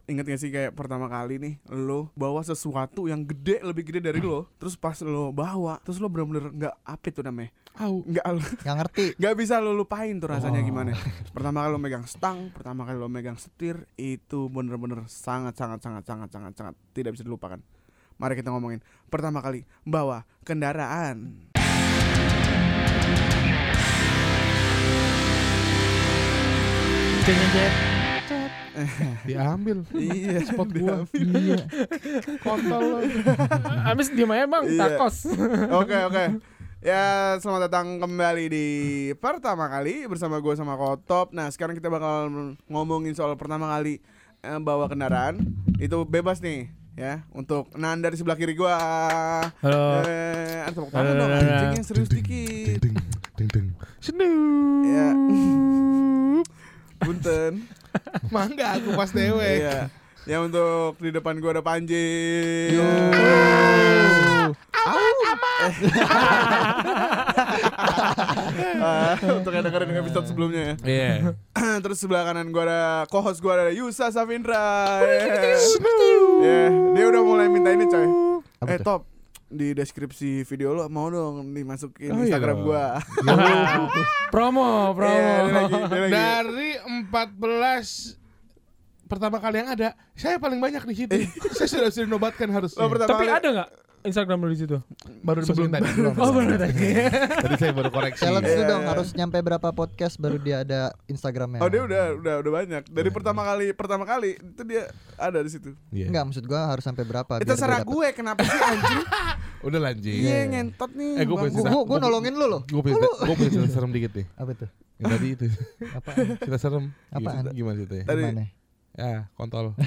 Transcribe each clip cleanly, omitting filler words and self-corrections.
inget gak sih kayak pertama kali nih lo bawa sesuatu yang gede, lebih gede dari lo, terus pas lo bawa, terus lo bener-bener gak apa itu namanya, Nggak ngerti. Gak bisa lo lupain tuh rasanya gimana. Pertama kali lo megang stang, pertama kali lo megang setir, itu bener-bener sangat tidak bisa dilupakan. Mari kita ngomongin pertama kali bawa kendaraan. Diambil. Iya, spot gua. Iya. Kontol lo. Abis diem aja bang, Iya. takos. Oke. Ya, selamat datang kembali di pertama kali bersama gue sama Kotop. Nah, sekarang kita bakal ngomongin soal pertama kali bawa kendaraan. Itu bebas nih ya, untuk Nanda di sebelah kiri gue. Halo. Tepuk tangan dong, anjing yang serius dikit. Ding. Ya. Punten. Mangga aku pas dewek. Iya. Ya, untuk di depan gue ada Panji. Untuk yang dengerin episode sebelumnya ya. Iya. Terus sebelah kanan gue ada co-host gue ada Yusa Safindra. Dia udah mulai minta ini coy. Top, di deskripsi video lo mau dong dimasukin Instagram gue. Promo. Dia lagi. Dari 14 pertama kali yang ada, saya paling banyak di situ. Saya sudah dinobatkan harusnya. Lo pertama Tapi kali ada nggak Instagram lo di situ? Baru Sebelum tadi. Oh baru tadi. Tadi saya baru koreksi. Challenge itu Iya. dong, harus nyampe berapa podcast baru dia ada Instagramnya. Oh, dia udah banyak. Dari pertama kali itu dia ada di situ. Iya. Enggak, maksud gua harus sampai berapa? Itu biar terserah dia dapet. gue, kenapa sih anjing? Udah lanjut. Iya, ngentot nih. Gue Bang. punya Gua nolongin lu loh. Gue punya cerita serem dikit nih. Apa tuh? Yang tadi itu. Apaan? Cerita serem. Apaan? Gimana ceritanya? Tadi. Gimana? Ya, kontol.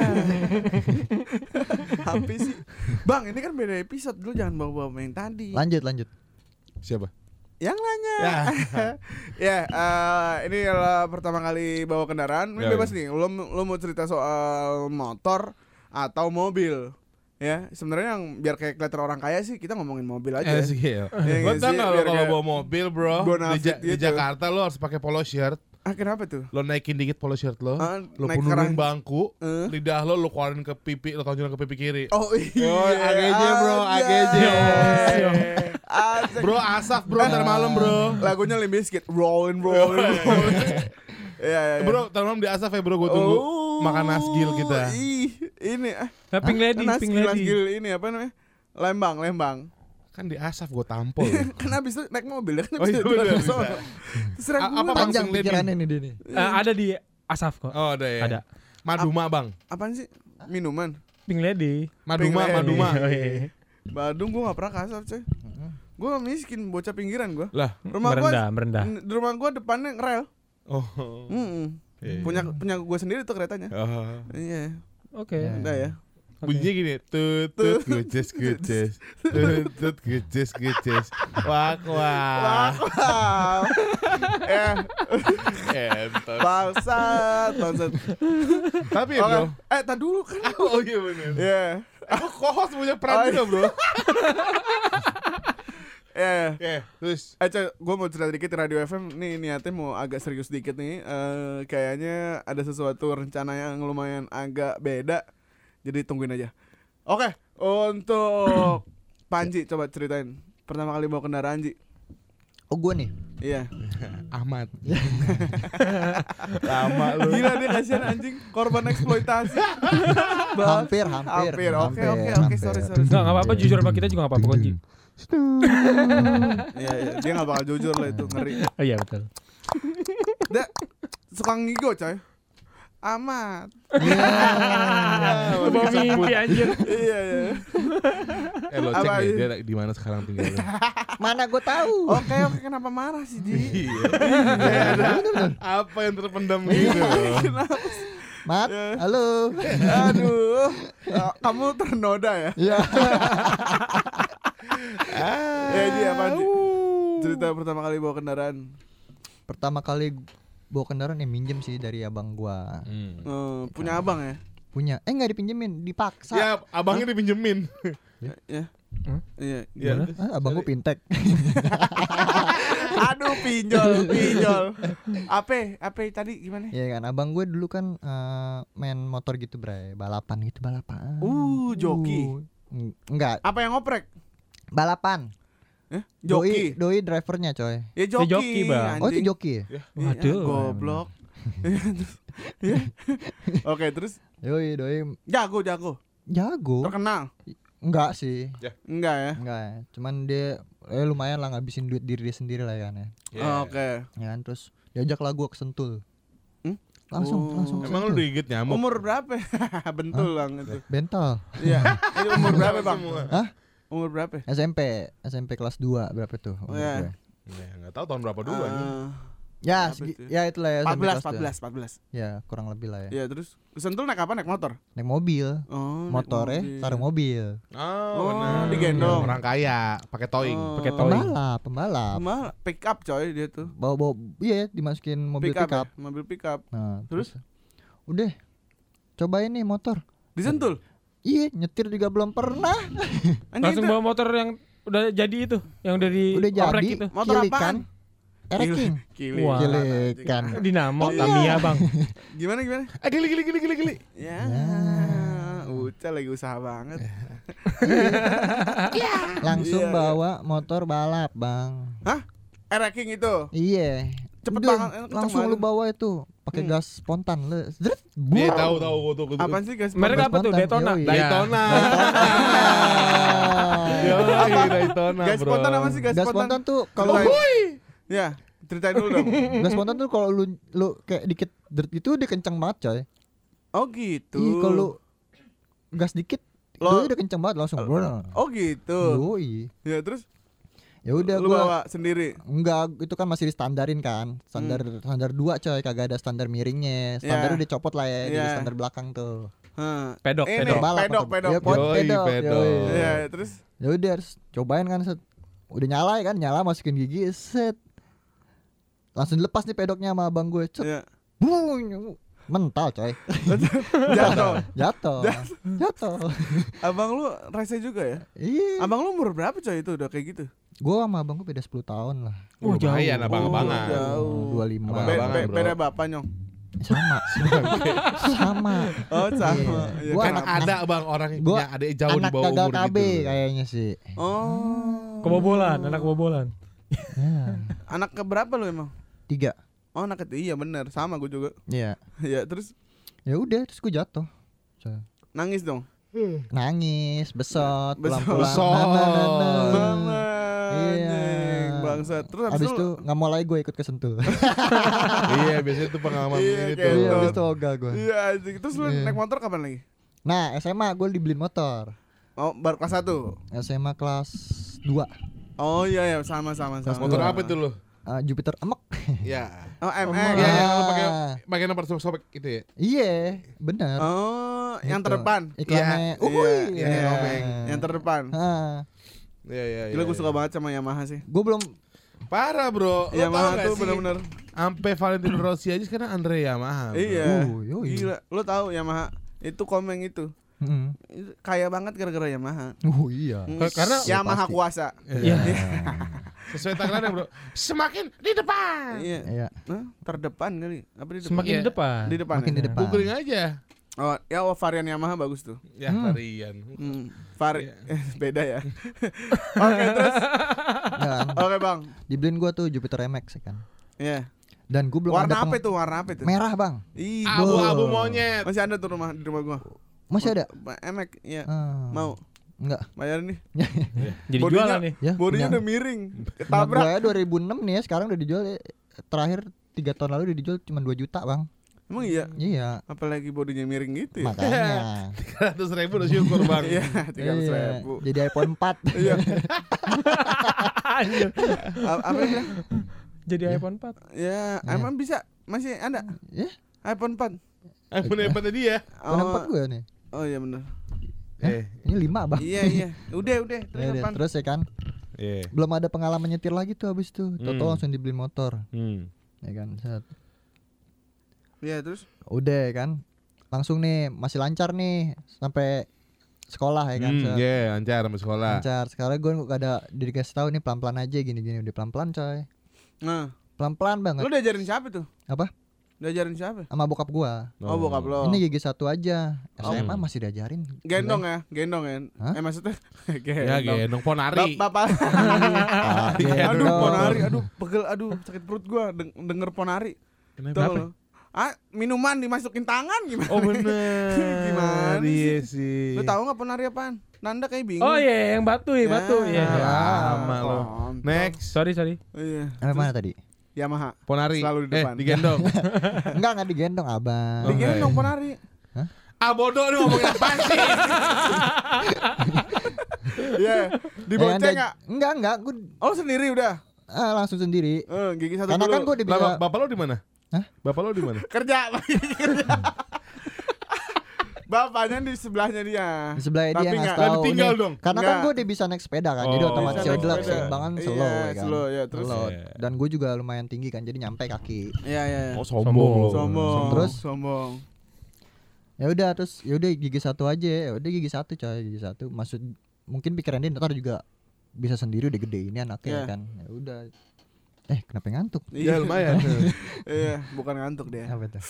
Apa sih? Bang, ini kan beda episode. Dulu jangan bawa-bawa yang tadi. Lanjut. Siapa? Yang nanya. Ya. Ini adalah pertama kali bawa kendaraan. Ini Ya, bebas nih. Lo mau cerita soal motor atau mobil? Ya, sebenarnya yang biar kayak kelihatan orang kaya sih kita ngomongin mobil aja. Sih ya. Iya Lo nggak tau sih? gak lo Biar kalau kayak bawa mobil bro bonafit di gitu. Jakarta lo harus pakai polo shirt. Kenapa tuh? Lo naikin dikit polo shirt lo, lo naik penuhin kerang. bangku, lidah lo keluarin ke pipi, lo tonjolin ke pipi kiri. Oh iya. AGJ bro, AGJ. Asik. Bro asaf bro, ntar malam bro. Lagunya Limp Bizkit, rolling. Iya. Bro, ntar malam di asaf ya bro, gue tunggu makan nasgil kita. Ini Pink Lady. Nasgil ini apa namanya? Lembang. Kan di asaf gue tampol. Kan abis itu naik mobil ya kan Oh bisa iya jualan bener, di sono. bisa. Terserah gue. Apa Panjang Pink Lady? pikirannya nih dia nih. Ada di Asaf kok. Oh ada ya. Ada. Maduma bang. Apaan sih? Minuman. Pink Lady. Maduma. Oh, iya. Badung gue gak pernah kasar coy. Gue miskin, bocah pinggiran gue. Lah. Merendah. Di rumah gue depannya rel. Oh. Iya. Punya gue sendiri tuh keretanya. Oh. Iya. Oke. Udah ya. Bunyinya gini, tut guces, tut guces, wak. Wow. Entot. Bangsat. Tapi ya bro. Tar dulu kan. Oh iya bener. Iya. Aku kohos punya peran juga bro. Iya. Terus. Coy, gue mau cerita dikit Radio FM. Nih niatnya mau agak serius dikit nih. Kayaknya ada sesuatu rencana yang lumayan agak beda. Jadi tungguin aja. Oke, untuk Panji coba ceritain pertama kali bawa kendaraan Ji. Oh, gua nih. Iya. Ahmad. Lama lu. Gila dia kasihan anjing, korban eksploitasi. Hampir. Oke, sorry. Enggak apa-apa, jujur sama kita juga enggak apa-apa kok, Ji. Iya, dia enggak bakal jujur lah itu, ngeri. Oh iya betul. Dia suka ngigo coy. Amat. Lu bawa mimpi anjir. Iya. Lo cek Apa deh ini? dia di mana sekarang tinggalnya. Mana gua tahu. Oke, kenapa marah sih Ji? Apa yang terpendam gitu? Mat, halo. Aduh. Kamu ternoda ya? Iya. Ya Ji, apaan Ji? Cerita pertama kali bawa kendaraan. Pertama kali bawa kendaraan minjem sih dari abang gua. Punya abang ya? Punya. Enggak dipinjemin, dipaksa. Ya, abangnya dipinjemin. Iya. Gimana? Iya. Abang gua pintek. Aduh, pinjol. Apa tadi gimana? Iya kan, abang gue dulu kan main motor gitu bre, balapan. Joki. Enggak, Apa yang ngoprek? balapan. Joki. Doi drivernya coy. Ya joki, joki, Bang. Oh itu anjing. joki ya? Iya, Waduh. goblok. Iya. Oke, terus Doi jago. jago. Terkenal. Enggak sih. Enggak ya? Enggak ya. Cuman dia lumayan lah ngabisin duit diri dia sendiri lah ya kan ya. Oke. Ya kan, terus diajak lah gua ke Sentul. Hmm? Langsung ke Emang lu Sentul. digigit nyamuk? Umur berapa? Bentul Bang itu. Bental. Iya. Itu umur berapa, Bang? Hah? Umur berapa? SMP kelas 2 berapa tuh umur Iya. gue? Ya, enggak tahu tahun berapa dulu anjing. Ya, Berapa itu? ya itulah ya SMP kelas 14. 2. Ya, kurang lebih lah ya. Iya, terus Sentul naik apa? Naik motor? Naik mobil. Oh, naik Motornya mobil. taruh mobil. Oh, benar. digendong. Orang kaya pakai towing. Pakai towing. Pembalap. Malah pick up coy dia tuh. Bawa iya dimasukin mobil Pick up. pickup. Ya? Mobil pick up. Nah, Terus? udah cobain nih motor. Di Sentul. Iya, nyetir juga belum pernah. Langsung bawa motor yang udah jadi itu, yang udah di Udah oprek jadi. itu. Motor Kilikan. Ereking. Kili. Wah. Kilikan. Dinamo Iya. Tamiya, Bang. Gimana? Gili. Ya. Uca lagi usaha banget. Langsung Iya. bawa motor balap, Bang. Hah? Ereking itu. Iya. Cepet Udah, banget, kenceng langsung lu banget. bawa itu pakai gas spontan lu. Zret. Nih Buang. tahu gua tuh. Apaan sih guys? Merek apa tuh? spontan, Daytona. yoi. Daytona. Daytona, Gas bro. spontan apa sih gas Gas spontan? spontan tuh kalau Ya, ceritain dulu dong. gas spontan tuh kalau lu kayak dikit deret itu dia kenceng banget coy. Oh gitu. Iya, kalau gas dikit Lo- doi udah kenceng banget langsung. Oh gitu. Yoi. Ya terus Ya udah lu gua bawa sendiri. enggak, itu kan masih distandarin kan. Standar 2 coy, kagak ada standar miringnya. Standar Ya. udah copot lah ya, jadi Ya. standar belakang tuh. Hah. Pedok, Ini, pedok. Balap pedok. maksud- Ya, Yoi, pedok. pedok. Yoi. Iya, terus Ya udah harus cobain kan set. Udah nyala ya kan, nyala masukin gigi set. Langsung dilepas nih pedoknya sama abang gue. Cet. ya. Bung. Mental coy. Jatuh. Jatuh. Abang lu rese juga ya? Iya. Abang lu umur berapa coy itu udah kayak gitu? Gua sama abang gue beda 10 tahun lah. Lumayan abang-abangan. jauh. 25. Abang-abangan, bro. Beda bapak nyong. Sama. Sama. Oh sama. Iya. Iya, Gua Kan kenapa? ada bang orang yang Gua punya adik jauh di Anak bawah gagal umur KB gitu. kayaknya sih. Oh. Kebobolan, anak kebobolan. Ya. Anak keberapa lu emang? 3. Oh anak ketiga, iya bener, sama gue juga. Iya. Ya terus Ya udah terus gue jatuh. Coy. nangis dong. Nangis, besot, Besot. pulang-pulang. Mama, Iya. anjing, bangsat. Terus Habis itu nggak mau lagi gue ikut ke Sentul. Iya biasanya tuh pengalaman Iya, ini kayak tuh. Iya, Betul. habis itu ogah gue. Iya anjing. Terus lu Iya. naik motor kapan lagi? Nah, SMA gue dibeliin motor. Oh baru kelas 1. SMA kelas 2. Oh iya ya sama. Motor apa itu lu? Jupiter Emek. Ya. Oh MX. Iya, Ah. yang lu pakai nomor sobek gitu ya. Iya, benar. Oh yang Gitu. terdepan. Iklannya. Iya, Uhuy. iya, Iya. obeng. Yang terdepan. Iya iya. Gila gue iya. suka banget sama Yamaha sih. Gue belum. Parah bro. Lo tau Yamaha gak tuh sih? bener-bener. Sampai Valentino Rossi aja sekarang Andre Yamaha. bro. Iya. Yoi. Gila. Lo tahu Yamaha itu komeng itu. Itu kaya banget gara-gara Yamaha. Iya. Karena Yamaha pasti. kuasa. Iya. Sesuai tagline bro. Semakin di depan. Iya. Iya. Hah? Terdepan kali. Apa di depan? Semakin Iya. di depan. Di depan. Makin ya? di depan. Googling aja. Oh, ya varian Yamaha bagus tuh. Ya varian. Vari Iya. beda ya. Oke, terus. Ya kan? Oke, Bang. Dibeliin gue tuh Jupiter MX ya kan. Iya. Dan gue belum Warna ada apa itu? Warna apa itu? merah bang. Ih, Abu-abu monyet. masih ada tuh di rumah gua. Masih ada? Emek, iya. Ah, Mau Enggak. bayar nih. Jadi Bodinya- jualan nih. Ya. Bodinya punya. udah miring. Rumah Ketabrak. gue 2006 nih ya, sekarang udah dijual ya. Terakhir 3 tahun lalu udah dijual cuma 2 juta bang. Emang iya. Iya. Apalagi bodinya miring gitu ya. Makanya. 300.000 udah syukur bang. Iya, 300.000. Iya. Jadi iPhone 4. Iya. Anjir. Apa ya? Jadi iPhone 4. Ya, emang bisa? Masih ada? Ya. iPhone 4. iPhone hebat tadi ya. iPhone 4 gue nih. Oh iya benar. Ini 5 bang. Iya. Udah. Terus Ya udah, apaan? terus ya kan. Iya. Belum ada pengalaman nyetir lagi tuh habis itu. Toto langsung dibeliin motor. Ya kan. Set. Iya, terus. Udah ya kan. Langsung nih masih lancar nih sampai sekolah ya kan. Set. Iya, lancar sampai sekolah. Lancar. Sekarang gue gak ada dikasih tahu nih pelan-pelan aja gini-gini udah pelan-pelan coy. Nah, Pelan-pelan banget. lu diajarin siapa tuh? Apa? Diajarin siapa? Sama bokap gua. Oh, bokap lo. Ini gigi 1 aja. SMA masih diajarin. Gendong ya? Hah? Maksudnya Ya gendong Ponari. Bapak. Ah, Aduh, gendong. Ponari, aduh, pegel, aduh, sakit perut gua denger Ponari. Kenapa? Tuh lo. Minuman dimasukin tangan gimana? Oh bener. Gimana Iya sih? sih. Lu tahu enggak Ponari apaan? Nanda kayak bingung. Oh iya, yang batu ya, batu. Iya. Lama lo. kontol. Next. Sorry. Iya. Mana tadi? Yamaha. Ponari. Selalu di depan. digendong. Enggak digendong, Abang. Digendong Ponari. Bodoh nih ngomongin apaan sih? Iya. Dibonceng enggak? Enggak, gua Oh, sendiri udah. langsung sendiri. Gigi satu Karena dulu. kan gua udah bisa Bapak lo di mana? Hah? Bapak lo di mana? kerja. Bapaknya di sebelahnya dia. di sebelah dia Tapi ngasih nggak- tahu. ditinggal nih. dong? Karena kan Nggak. gue udah bisa naik sepeda kan, jadi Oh. otomatis Bisa ya naik udah sepeda. keseimbangan Iya, slow ya kan. slow, ya, terus? Slow. Iya. Dan gue juga lumayan tinggi kan, jadi nyampe kaki. Iya. Oh sombong lo. Sombong. Terus? Sombong. Ya udah terus ya udah gigi 1 aja. Ya udah gigi 1 coy, gigi 1. Maksud mungkin pikiran dia ntar juga bisa sendiri udah gede ini Iya. anaknya kan. Ya udah. Kenapa ngantuk? Ya lumayan. Iya, bukan ngantuk dia. Apa tuh?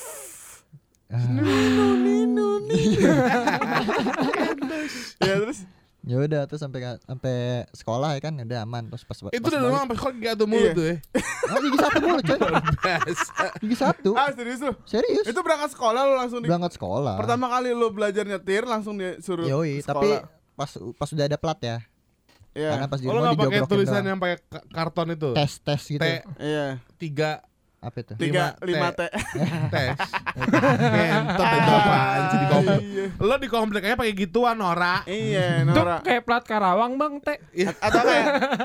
Ya terus Ya udah terus sampai sekolah ya kan udah aman terus pas Itu udah doang sampai sekolah gak ada mulut Iya. tuh ya. gigi 1 mulu coy. Biasa. Gigi 1. serius lu? Serius. Itu berangkat sekolah lu langsung Berangkat sekolah. Pertama kali lu belajar nyetir langsung disuruh Yoi, sekolah. tapi pas udah ada plat ya. Iya. Karena pas di Oh, lo rumah gak pakai dijoglokin tulisan doang. yang pakai karton itu? tes gitu. Iya. 3 Apa itu? 5 T. tes. Ngentot itu apaan sih di komplek. Iya. Lo di komplek aja pakai gituan Nora. Iya, Itu Nora. kayak plat Karawang, Bang, Teh. Atau kayak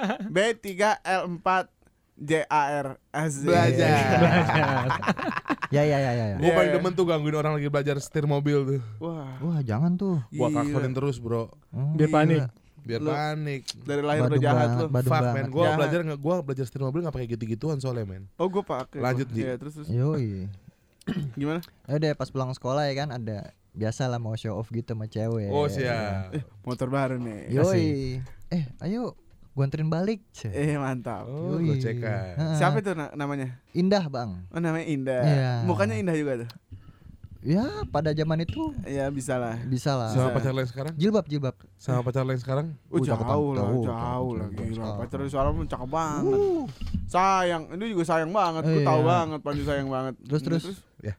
B3L4 JAR AZ. Belajar. Ya. Gue Iya, paling iya. demen tuh gangguin orang lagi belajar setir mobil tuh. Wah, Wah, jangan tuh. Gua gila. kaksonin terus bro. Biar panik. Biar Lu- panik. Dari lahir udah Badung jahat banget, lu. badung Fuck banget. man, gue Jahat. belajar setir mobil gak pakai gitu-gituan soalnya men. Oh, gue pakai. Lanjut, Ji. Iya, terus. Yoi. Gimana? Ya udah pas pulang sekolah ya kan ada biasa lah mau show off gitu sama cewek. Oh siap. Motor baru nih. Yoi. Ayo gua anterin balik. Mantap. Oh Yoi. gue cekan. Heeh. Siapa itu namanya? Indah, Bang. Oh, namanya Indah. Iya. Mukanya indah juga tuh. Ya, pada zaman itu Iya, bisa lah. bisa lah. Sama Bisa. pacar lain sekarang? Jilbab. Sama pacar lain sekarang? Jauh cakep, lah, jauh, jauh lah, cakep, gila. cakep. Pacar soalnya cakep banget. Sayang, ini juga sayang banget. Gue Iya. tahu banget, Panji sayang banget. Terus. Ya.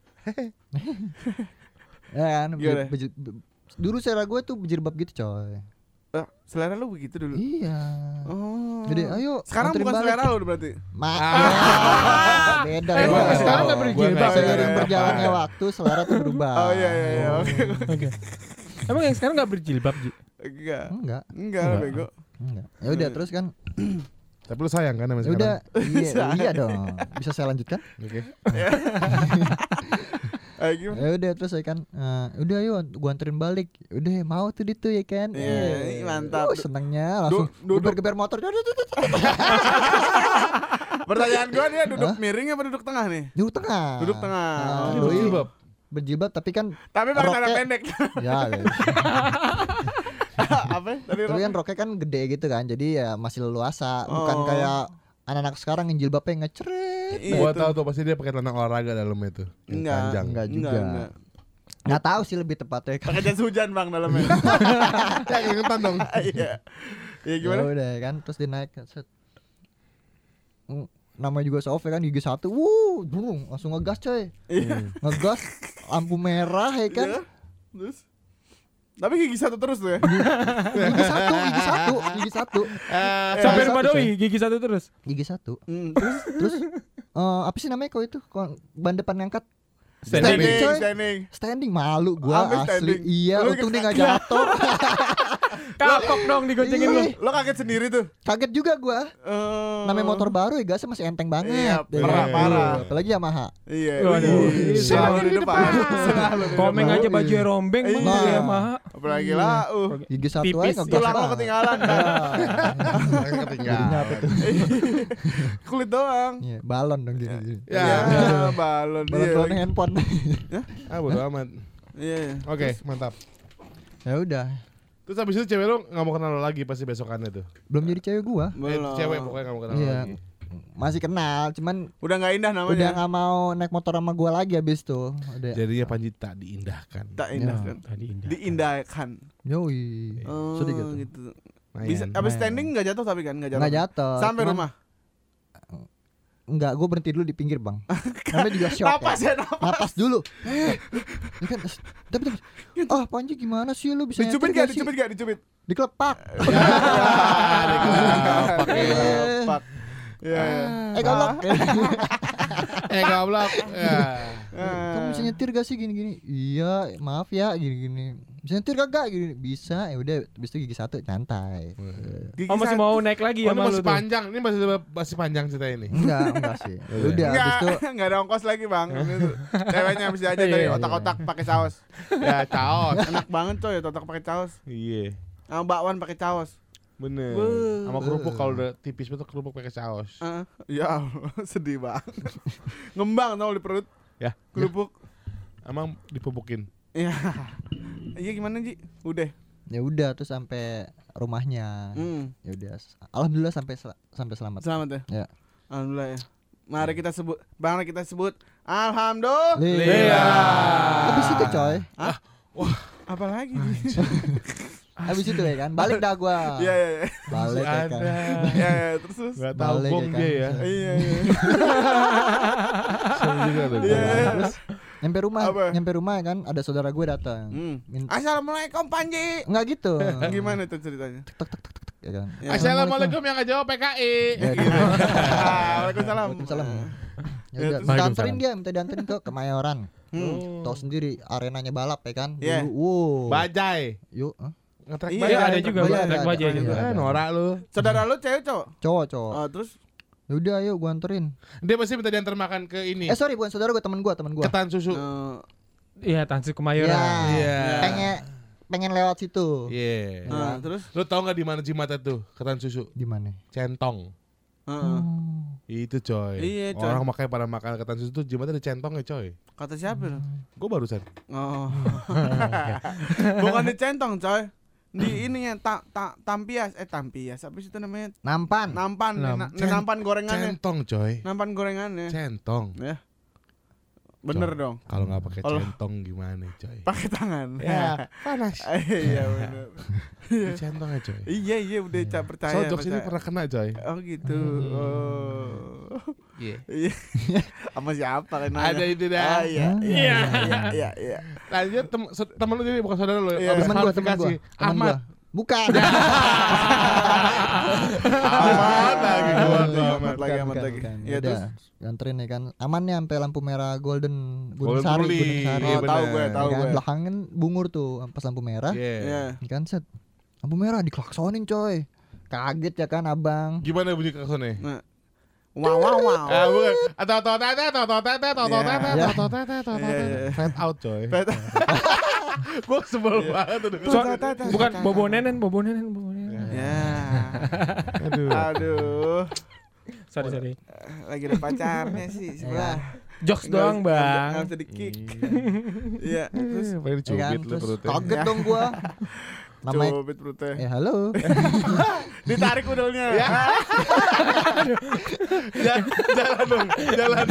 Ya kan. Gimana? Dulu selera gue tuh berjilbab gitu, coy. Selera lu begitu dulu. Iya. Oh. Jadi ayo Sekarang anterin bukan balik. selera lu berarti. Beda. Emang beda. sekarang nggak Gua berjilbab? nggak Seiring selera. berjalannya waktu selera tuh berubah. Oh iya, oke. Oke. Emang yang sekarang nggak berjilbab, Ji? Enggak. Enggak. Enggak, bego. Enggak. Ya udah terus kan. Tapi lu sayang kan sama Ya udah. Iya dong. Bisa saya lanjutkan? Oke. Gimana? Ya udah terus saya kan udah ayo gua anterin balik. Udah mau tuh itu ya kan. Iya, mantap. Senengnya langsung Duduk. geber-geber motor. Pertanyaan gua dia duduk miring apa duduk tengah nih? Duduk tengah. Duduk tengah. Ini Oh. berjilbab. Berjilbab tapi kan Tapi pakai celana Roknya- pendek. ya Apa? Tadi tapi kan roknya kan gede gitu kan. Jadi ya masih leluasa, bukan Oh. kayak anak-anak sekarang yang jilbabnya ngecret. Iya, Gua tuh. tahu tuh pasti dia pakai celana olahraga dalamnya itu. Yang Enggak. panjang. Enggak juga. Enggak. Nggak tahu sih lebih tepatnya kan. Pakai jas hujan Bang dalamnya. Ya keringetan dong. Iya. Iya Ya gimana? udah kan terus dia naik set. Namanya juga soft ya kan gigi 1. Burung langsung ngegas coy. Iya. Ngegas lampu merah ya kan. Iya. Terus tapi gigi satu terus tuh ya. Gigi satu. Sampai satu, rumah coy. doi gigi satu terus. Gigi 1. Terus Terus apa sih namanya kok itu? Kok ban depan ngangkat? Standing. coy. Standing. Malu gua Sampai asli. standing. Iya, Lu untung dia ke- enggak jatuh. Kapok dong digoncengin lu. Ih, Lo kaget sendiri tuh. kaget juga gua. Namanya motor baru ya gasnya masih enteng banget. Iya, Ya parah, kan? parah. Apalagi Yamaha. Iya. Waduh. Wih, Selalu di depan. Selalu di Komeng depan. aja baju rombeng Bang, Iya. ya Yamaha. Apalagi lah. Gigi 1 Tipis, aja ngegas Tulang lo banget. ketinggalan. Jadinya apa tuh? Kulit doang. Iya, balon dong gini. Ya. Ya, balon. Balon Iya. handphone. Ah bodo amat. Iya. Oke, mantap. Ya udah. Terus habis itu cewek lu gak mau kenal lo lagi pasti besokannya tuh. Belum jadi cewek gua. Belum. Cewek pokoknya gak mau kenal lo Iya. lagi. Masih kenal, cuman Udah nggak indah udah namanya. nggak mau naik motor sama gua lagi abis tuh. Udah. Jadinya Panji tak diindahkan. Tak indah kan. Tadi indah. Diindahkan. Yoi. Oh, Sedih gitu. gitu. Lumayan. Bisa abis standing nggak jatuh tapi kan nggak jatuh. Nggak jatuh. Sampai cuman- rumah. Enggak, gue berhenti dulu di pinggir bang. Namanya juga shock Napas ya. ya napas. Napas dulu. Ya kan, tapi ah Panji gimana sih lu bisa Dicubit nyetir gak? sih? Dicubit gak? Dicubit. Dikelepak. Pak. Ya. Goblok. Goblok. Ya. Kamu bisa nyetir gak sih gini-gini? Iya, maaf ya gini-gini. Bisa nyetir kagak gini? Bisa. Ya udah, habis itu gigi 1 santai. Oh masih mau naik lagi Oh, ya ini sama lu masih tuh? panjang. Ini masih panjang cerita ini. Enggak sih. Ya udah, habis itu Enggak ada ongkos lagi, Bang. Ini tuh. Ceweknya bisa aja dari Iya, iya. otak-otak pakai saus. Ya, caos. Enak banget coy, otak pakai saus. Iya. Sama bakwan pakai saus. Bener. Beuh. Sama kerupuk kalau udah tipis betul kerupuk pakai saus. Ya Allah, sedih banget. Ngembang tau di perut. Ya. Kerupuk. Emang dipupukin. Iya. Iya gimana, Ji? Udah. ya udah terus sampai rumahnya. Ya udah. Alhamdulillah sampai selamat. Selamat ya. Ya. Alhamdulillah ya. Mari kita sebut, mari kita sebut Alhamdulillah. Iya. Habis itu coy. Apa lagi? Habis itu ya kan. Balik dah gua. Iya iya iya. Balik ya kan. Iya iya, terus. Gak tahu Balik bong ya kan. dia ya. Iya iya. Saya juga tuh. Iya. Terus nyampe rumah Apa? kan ada saudara gue datang. Assalamualaikum Panji. Enggak gitu. Gimana tuh ceritanya? Ya kan. Ya. Assalamualaikum yang gak jawab PKI. Ya, gitu. Waalaikumsalam. Waalaikumsalam. Ya Ya, udah, terus minta anterin dia, minta dianterin ke Kemayoran. Hmm. Tahu sendiri arenanya balap ya kan. Iya. Wow. Bajai. Yuk, Ngetrek Iya, bajai. ada juga Bajai, track ada. bajai Iya, juga. ada. Norak lu. Saudara lu cewek cowok? cowok. Oh, terus Ya udah ayo gua anterin. Dia pasti minta diantar makan ke ini. Sorry bukan saudara gua, teman gua. Ketan susu. Iya, Tansi Kemayoran. Iya. Pengen lewat situ. Iya. Nah, terus Lu tau gak di mana Cimatat tuh ketan susu? Di mana? Centong. Itu coy. Iya, coy. Orang makanya pada makan ketan susu tuh Cimatat ada centongnya coy. kata siapa lu? Gue barusan. Oh. Bukan di centong, coy. Di ininya tampias apa sih itu namanya? Nampan. Nampan, nampan gorengannya. Centong coy. Nampan gorengannya. Centong. Ya. Bener Coy. dong. Kalau nggak pakai Kalau- centong gimana coy? Pakai tangan. Ya panas. Iya bener. Di centongnya coy. Iya udah percaya. So jokes ini percaya. pernah kena coy. Oh gitu. Oh. Iya. Iya. Sama siapa kan? Ada itu dah. Iya. Lanjut temen lu jadi bukan saudara lu. Iya. Habis Temen gua. klarifikasi. Ahmad. Bukan. Ahmad lagi gua. Amat lagi. Iya terus. Anterin ya kan. Aman ya sampai lampu merah Golden Golden Sari, Ruli. Gunung Sari. Iya, Oh, tahu bener. gue, tahu Ya kan? gue. Belakangan bungur tuh pas lampu merah. Iya. Iya. Ya kan set. Lampu merah diklaksonin coy. Kaget ya kan abang. Gimana bunyi klaksonnya? Nah. Wow. Ah bukan. Atau Iya. fade out coy. Fade Gua sebel banget tuh. Bukan bobo nenen. Ya. Aduh. Aduh. Sorry. Lagi ada pacarnya sih sebelah. Jokes doang, Bang. Enggak bisa di-kick. Iya, terus Pengen Ya kan? dicubit lu Terus perutnya. kaget dong gua. Namanya cubit perutnya. halo. Ditarik udulnya. Ya. Jalan dong, jalan.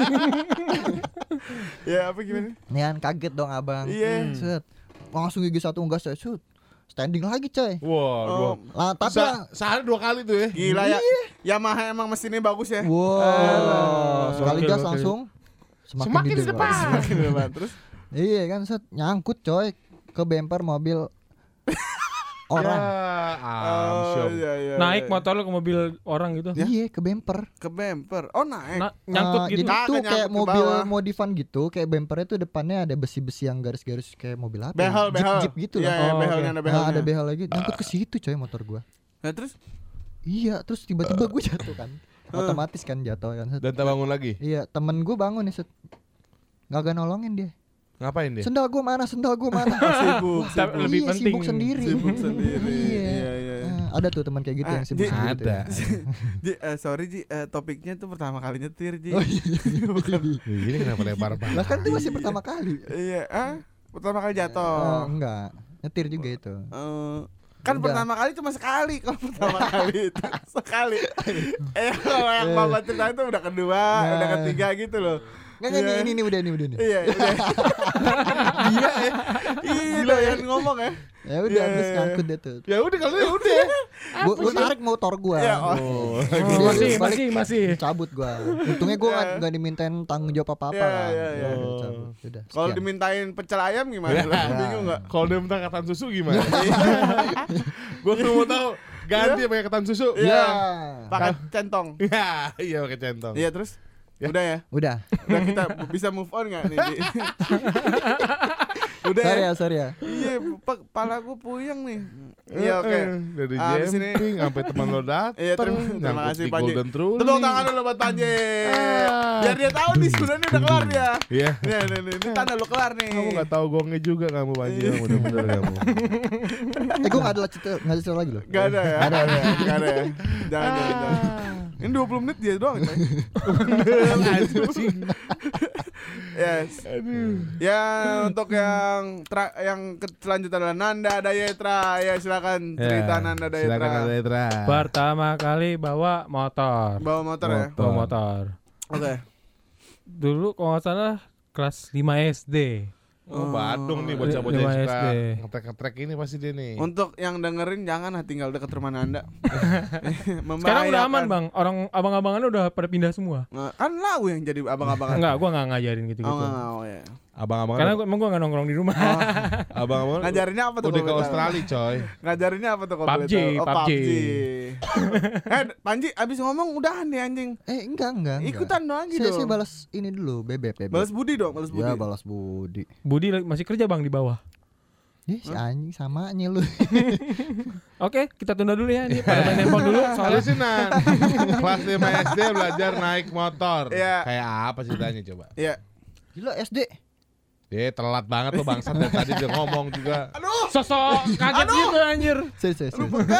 Ya apa gimana? Nih kan kaget dong abang. Iya. Set. Langsung gigi 1 gas saya shoot. Standing lagi coy. Wah, Oh, Lah tapi sehari 2 kali tuh ya. gila ya. Yamaha emang mesinnya bagus ya. wow. Sekali Gokil, gas gokil. langsung Semakin di depan. Semakin depan terus. Iya kan set nyangkut coy ke bumper mobil orang. Ya, iya. Naik motor lu ke mobil orang gitu. Iya ke bumper. ke bumper. Oh, naik. Nyangkut gitu. Jadi tuh Kagak kayak nyangkut ke mobil bawah. modifan gitu, kayak bumpernya tuh depannya ada besi-besi yang garis-garis kayak mobil apa? Behel. Jeep gitu Iya, lah. iya, Oh, behelnya oke. ada Nah, behelnya. ada behel lagi. Nyangkut ke situ coy motor gua. Nah, terus Iya, terus tiba-tiba gue jatuh kan. Otomatis kan jatuh kan. Set. Dan tak bangun lagi. Iya, temen gue bangun nih set. Gak nolongin dia. Ngapain dia? Sendal gue mana? sibuk. Tapi lebih Iya, penting. sibuk sendiri. Sibuk sendiri. Iya. Iya. Ada tuh teman kayak gitu Ah, yang sibuk Ji, sendiri. Ada. Ji, sorry Ji, topiknya tuh pertama kali nyetir Ji. Oh iya. Ini kenapa lebar banget? Lah kan itu masih pertama kali. Iya, pertama kali jatuh. Enggak. Nyetir juga itu. Kan Udah. pertama kali cuma sekali. Kalau pertama kali itu sekali. Kalau yang Bapak cerita itu udah kedua, Nah. udah ketiga gitu loh. Nggak, Iya. ini udah nih. Iya, udah. Gila ya. Gila ya ngomong ya. Ya udah Iya. terus ngangkut dia tuh. Ya udah kalau ya udah. Gua tarik motor gua. Ya, Oh. Oh, Dia masih. balik, cabut gua. Untungnya gua Iya. nggak dimintain tanggung jawab apa-apa. Iya. Ya udah, cabut. Udah. Kalau sekian. dimintain pecel ayam gimana? Lo bingung enggak? Kalau dia minta ketan susu gimana? Gua cuma mau tahu ganti pakai ketan susu. Iya. Ya. Pakai centong. Ya, iya pakai centong. Iya, terus udah ya. Udah. Udah kita bisa move on enggak nih? Di? Udah ya. Sorry ya. Iya, kepala gue puyeng nih. Iya, oke. Dari Abis ini jumping sampai teman lo datang. Iya, terima kasih Panji. Golden Truly. Tepuk tangan dulu buat Panji. Biar dia tahu nih sebenarnya udah kelar dia. Iya. Nih, ini tanda lu kelar nih. Kamu gak tahu gongnya juga kamu Panji, Iya. kamu bener-bener kamu. Gue nggak ada cerita lagi loh. Gak ada ya. Gak ada ya. Jangan. Ini 20 menit dia doang, coy. Yes. Ya, untuk yang selanjutnya adalah Nanda Dayetra. Ya, silakan cerita Nanda Dayetra. Silakan Nanda Dayetra. Pertama kali bawa motor. Bawa motor ya. Bawa motor. Oke. Dulu kalau nggak salah kelas 5 SD. Oh, Badung nih bocah-bocah Lima yang suka SD. ngetrek-ngetrek ini pasti dia nih. Untuk yang dengerin jangan tinggal dekat rumah Nanda. Sekarang udah aman Membahayakan. bang. Orang abang-abangannya udah pada pindah semua. Kan lau yang jadi abang-abangan. Enggak, gua nggak ngajarin gitu-gitu. Oh, ya. Abang-abang Karena emang gua nggak nongkrong di rumah. abang-abang Ngajarinnya apa tuh? udah kalau ke boleh tahu? Australia, coy. Ngajarinnya apa tuh kalau boleh PUBG, tahu? Oh, PUBG. Panji abis ngomong udahan nih anjing. Enggak. Ikutan dong lagi Saya dong. balas ini dulu, bebek. Balas budi dong, balas budi. Ya balas budi. Budi masih kerja bang di bawah. Si anjing samanya lu. Oke, kita tunda dulu ya. Ini pada main handphone dulu. Soalnya Soalnya sih Nan, kelas 5 SD belajar naik motor. Iya. Kayak apa ceritanya coba? Iya. Gila SD. Telat banget lo bangsat dari tadi dia ngomong juga. sosok kaget gitu anjir. Serius.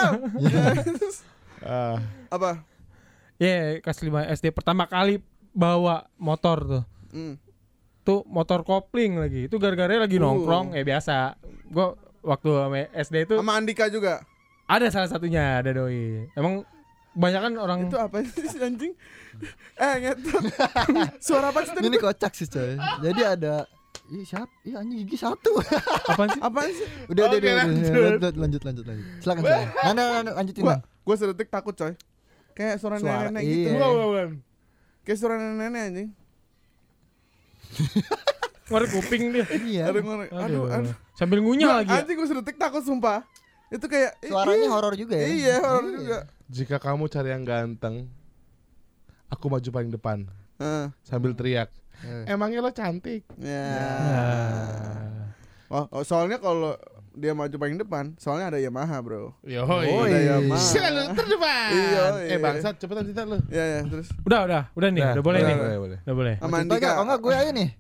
Ah, Apa? Ya, kelas 5 SD pertama kali bawa motor tuh. Tuh motor kopling lagi. Itu gara-gara lagi nongkrong, biasa. Gua waktu sama SD itu Sama Andika juga. ada salah satunya, ada doi. Emang banyak kan orang Itu apa sih anjing? Ngetot. Suara apa sih tadi? Ini kocak sih coy. Jadi ada siapa? Anjing gigi satu. apaan sih? Apaan sih? Udah. Oke, Lanjut. Silakan. Nanda lanjutin. Bang. Gua sedetik takut coy. Kayak suara nenek gitu. iya. bukan. Kayak suara nenek anjing. Ngorek kuping dia. Iya. Aduh. Sambil ngunyah lagi. Ya? Anjing gua sedetik takut sumpah. Itu kayak Suaranya horor juga ya. Iya, horor juga. Jika kamu cari yang ganteng, aku maju paling depan sambil teriak. Emangnya lo cantik? Ya. Nah. Oh, soalnya kalau dia maju paling depan, soalnya ada Yamaha, bro. Yo, Ada Yamaha. selalu terdepan. Iya. Bangsat, cepetan cerita lo. Ya, terus Udah nih, udah boleh nih. Boleh. Udah boleh. sama Lanjut aja. Andika. Oh enggak gue aja nih.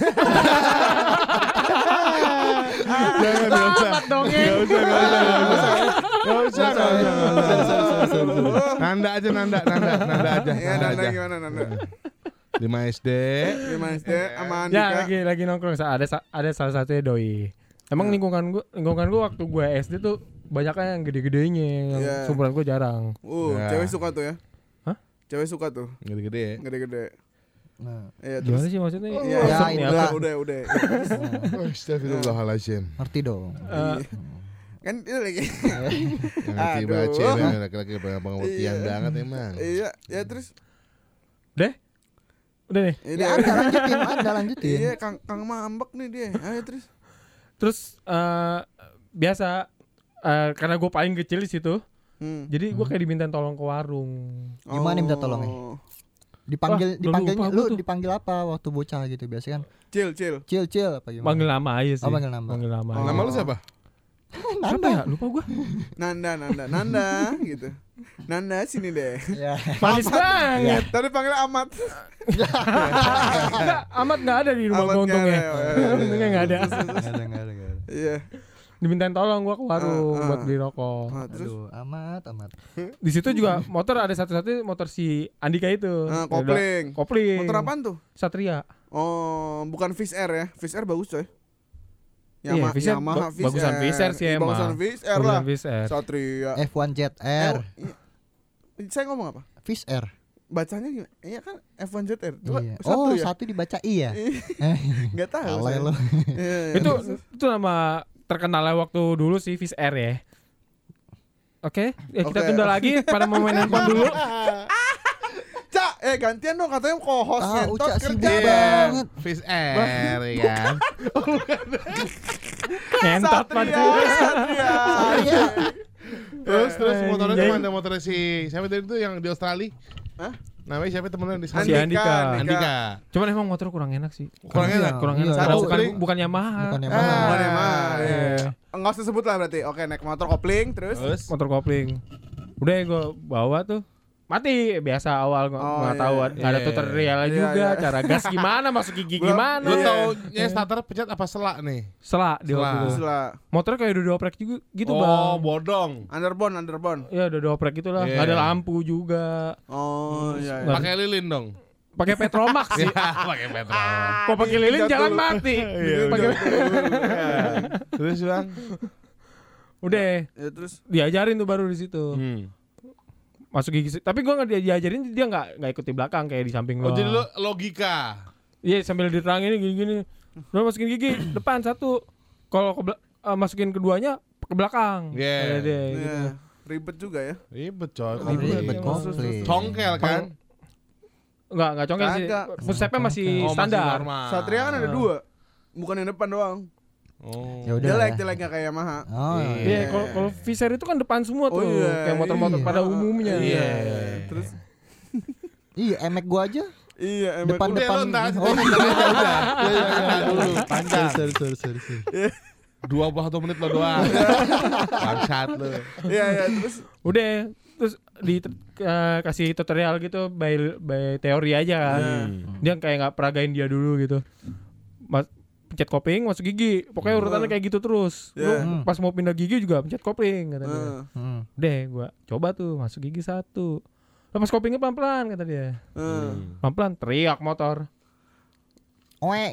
Jangan, gak usah. Dongeng. Gak usah. Nanda aja. Nanda aja. Iya, Nanda gimana Nanda? 5 SD. Gimana SD sama Ya, Andika? lagi nongkrong. Ada salah satunya doi. Emang lingkungan gua waktu gua SD tuh banyaknya yang gede-gedenya, yang Iya. seumuran gua jarang. Ya. Cewek suka tuh ya? Hah? Cewek suka tuh, Gede-gede ya. gede-gede. Nah, Iya, Gimana terus. sih maksudnya? Iya, Ya, Maksudnya ini apa? lah. udah. Astagfirullahaladzim. ngerti dong. Kan itu lagi. Yang ngerti banget Aduh. cewek laki-laki pengertian Iya. banget emang. Iya, ya terus. Udah nih. Ini Ya ada lanjutin. Iya, Kang Mambek nih dia. Ayo terus. Terus biasa karena gue paling kecil di situ, jadi gue kayak diminta tolong ke warung. Gimana minta tolongnya? Oh. Dipanggil Wah, udah lupa gua tuh. dipanggil apa waktu bocah gitu biasa kan? Cil. Cil apa gimana? Panggil nama aja sih. Oh, panggil nama. Oh. Nama lu siapa? Siapa ya? Lupa gue. Nanda gitu. Nanda sini deh. Ya. Manis banget. Tadi panggil Amat. Enggak, Amat nggak ada di rumah Amat gue untungnya. nggak ada. Untungnya nggak ada. Enggak ada. Iya. Dimintain tolong gue ke warung buat beli rokok. Terus Aduh, amat. Di situ juga motor ada satu-satu motor si Andika itu. kopling. Kopling. Motor apaan tuh? Satria. Oh, bukan Fish Air ya. Fish Air bagus coy. Yamaha, Fish Air Yamaha bagusan Fish Air sih emang. Bagusan Fish Air lah. Bagusan Fish Air. Satria. F1 Jet Air. Saya ngomong apa? Fish Air. Bacanya gimana? Iya kan F1 Jet Air. Coba Iya. satu Oh, ya. satu dibaca I ya. Enggak tahu. Alay saya. lo. Iya, iya. Itu nama terkenalnya waktu dulu sih Fish Air ya. Oke, ya kita Oke. tunda lagi pada mau main handphone dulu. Cak, gantian dong katanya co-host ngentot Uca sibuk kerja. banget. Fish Air ya kan. Ngentot Satria, banget. Satria. Iya. Terus motornya Anjing. kemana? Motornya si siapa tadi itu yang di Australia? Hah? Namanya siapa temennya di sana? Si Andika. Andika. Cuman emang motor kurang enak sih. Kurang enak. Kurang Iya, enak. iya. Karena Satu bukan kali- bukan Yamaha. Bukan Ah, Yamaha. bukan Yamaha. Iya. Iya. Enggak usah sebut lah berarti. Oke, naik motor kopling terus. Terus Motor kopling. Udah gue bawa tuh. Mati biasa awal nggak tahu iya. nggak ada Iya. tutorialnya Iya, juga iya. cara gas gimana masuk gigi Gua- gimana. lu Iya. taunya starter pencet apa selak nih? Selak di waktu Selak. itu. Setelah Motornya kayak udah dioprek juga gitu Oh, bang. bodong. underbone. Ya udah dioprek gitu lah. Iya. Nggak ada lampu juga. Oh, iya. Nggak- Pakai lilin dong. Pakai Petromax sih. Iya, pakai petrol. Kok pakai lilin Jatuh jalan lu. mati. Iya, Pakai Terus Bang. udah Ya terus diajarin tuh baru di situ. Masuk gigi. Tapi gua nggak diajarin dia nggak ikut di belakang kayak di samping Oh, lo. jadi lu logika. Iya sambil diterangin gini-gini. Lu masukin gigi depan satu. Kalau masukin keduanya ke belakang. Iya. Ada deh, gitu. iya. Ribet juga ya. Ribet coy. Ribet Terus, komplit. Congkel kan? Enggak congkel sih. Kagak. Footstepnya masih Oh, masih standar. normal. Satria kan ada 2. Bukan yang depan doang. Oh. Ya udah. Jelek nggak kayak Yamaha. Oh, Iya, kalau Fisher itu kan depan semua tuh, Oh, iya, kayak motor-motor iya. pada umumnya. Iya. Terus Iya, emek gua aja. iya emang Depan- Udah lu entar Oh. udah. Dulu panjang. Sorry. 21 menit lo doang. Bangsat lu. Iya terus Udah, terus kasih tutorial gitu by teori aja kan. Dia kayak nggak peragain dia dulu gitu. Pencet kopling masuk gigi. Pokoknya urutannya kayak gitu terus. Iya. Lu pas mau pindah gigi juga pencet kopling kata dia. Udah, gua coba tuh masuk gigi 1. Lepas koplingnya pelan-pelan kata dia. Pelan-pelan teriak motor. Oe.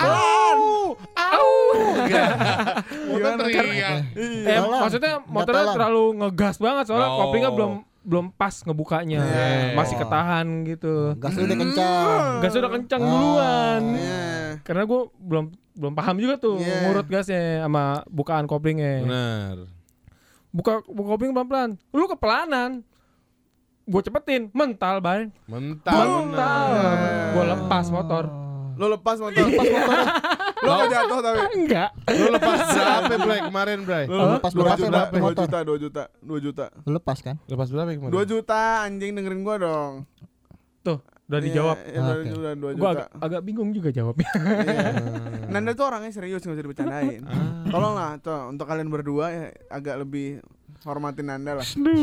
Motor teriak. Tolong. Maksudnya Minta motornya tolong. terlalu ngegas banget soalnya Oh. koplingnya belum pas ngebukanya. Iya. Masih ketahan gitu. Gas lu udah kencang. Gas udah kencang duluan. Iya. Karena gue belum paham juga tuh Iya. ngurut gasnya sama bukaan koplingnya. Benar. Buka kopling pelan-pelan. Lu kepelanan. Gue cepetin, mental, Bay. Mental. Mental. Gue lepas motor. Lo lepas motor. Lo nggak jatuh tapi. Enggak. Lu lepas berapa Bray kemarin Bray? Lu lepas berapa berapa 2 motor? juta. 2 juta. Lu lepas kan? Lepas berapa kemarin? 2 juta anjing dengerin gua dong. Tuh, udah dijawab. Iya, Oke. udah 2 Gue juta. agak bingung juga jawabnya. Iya. Nanda tuh orangnya serius nggak usah dibercandain. Tolonglah tuh untuk kalian berdua ya, agak lebih hormatin Nanda lah.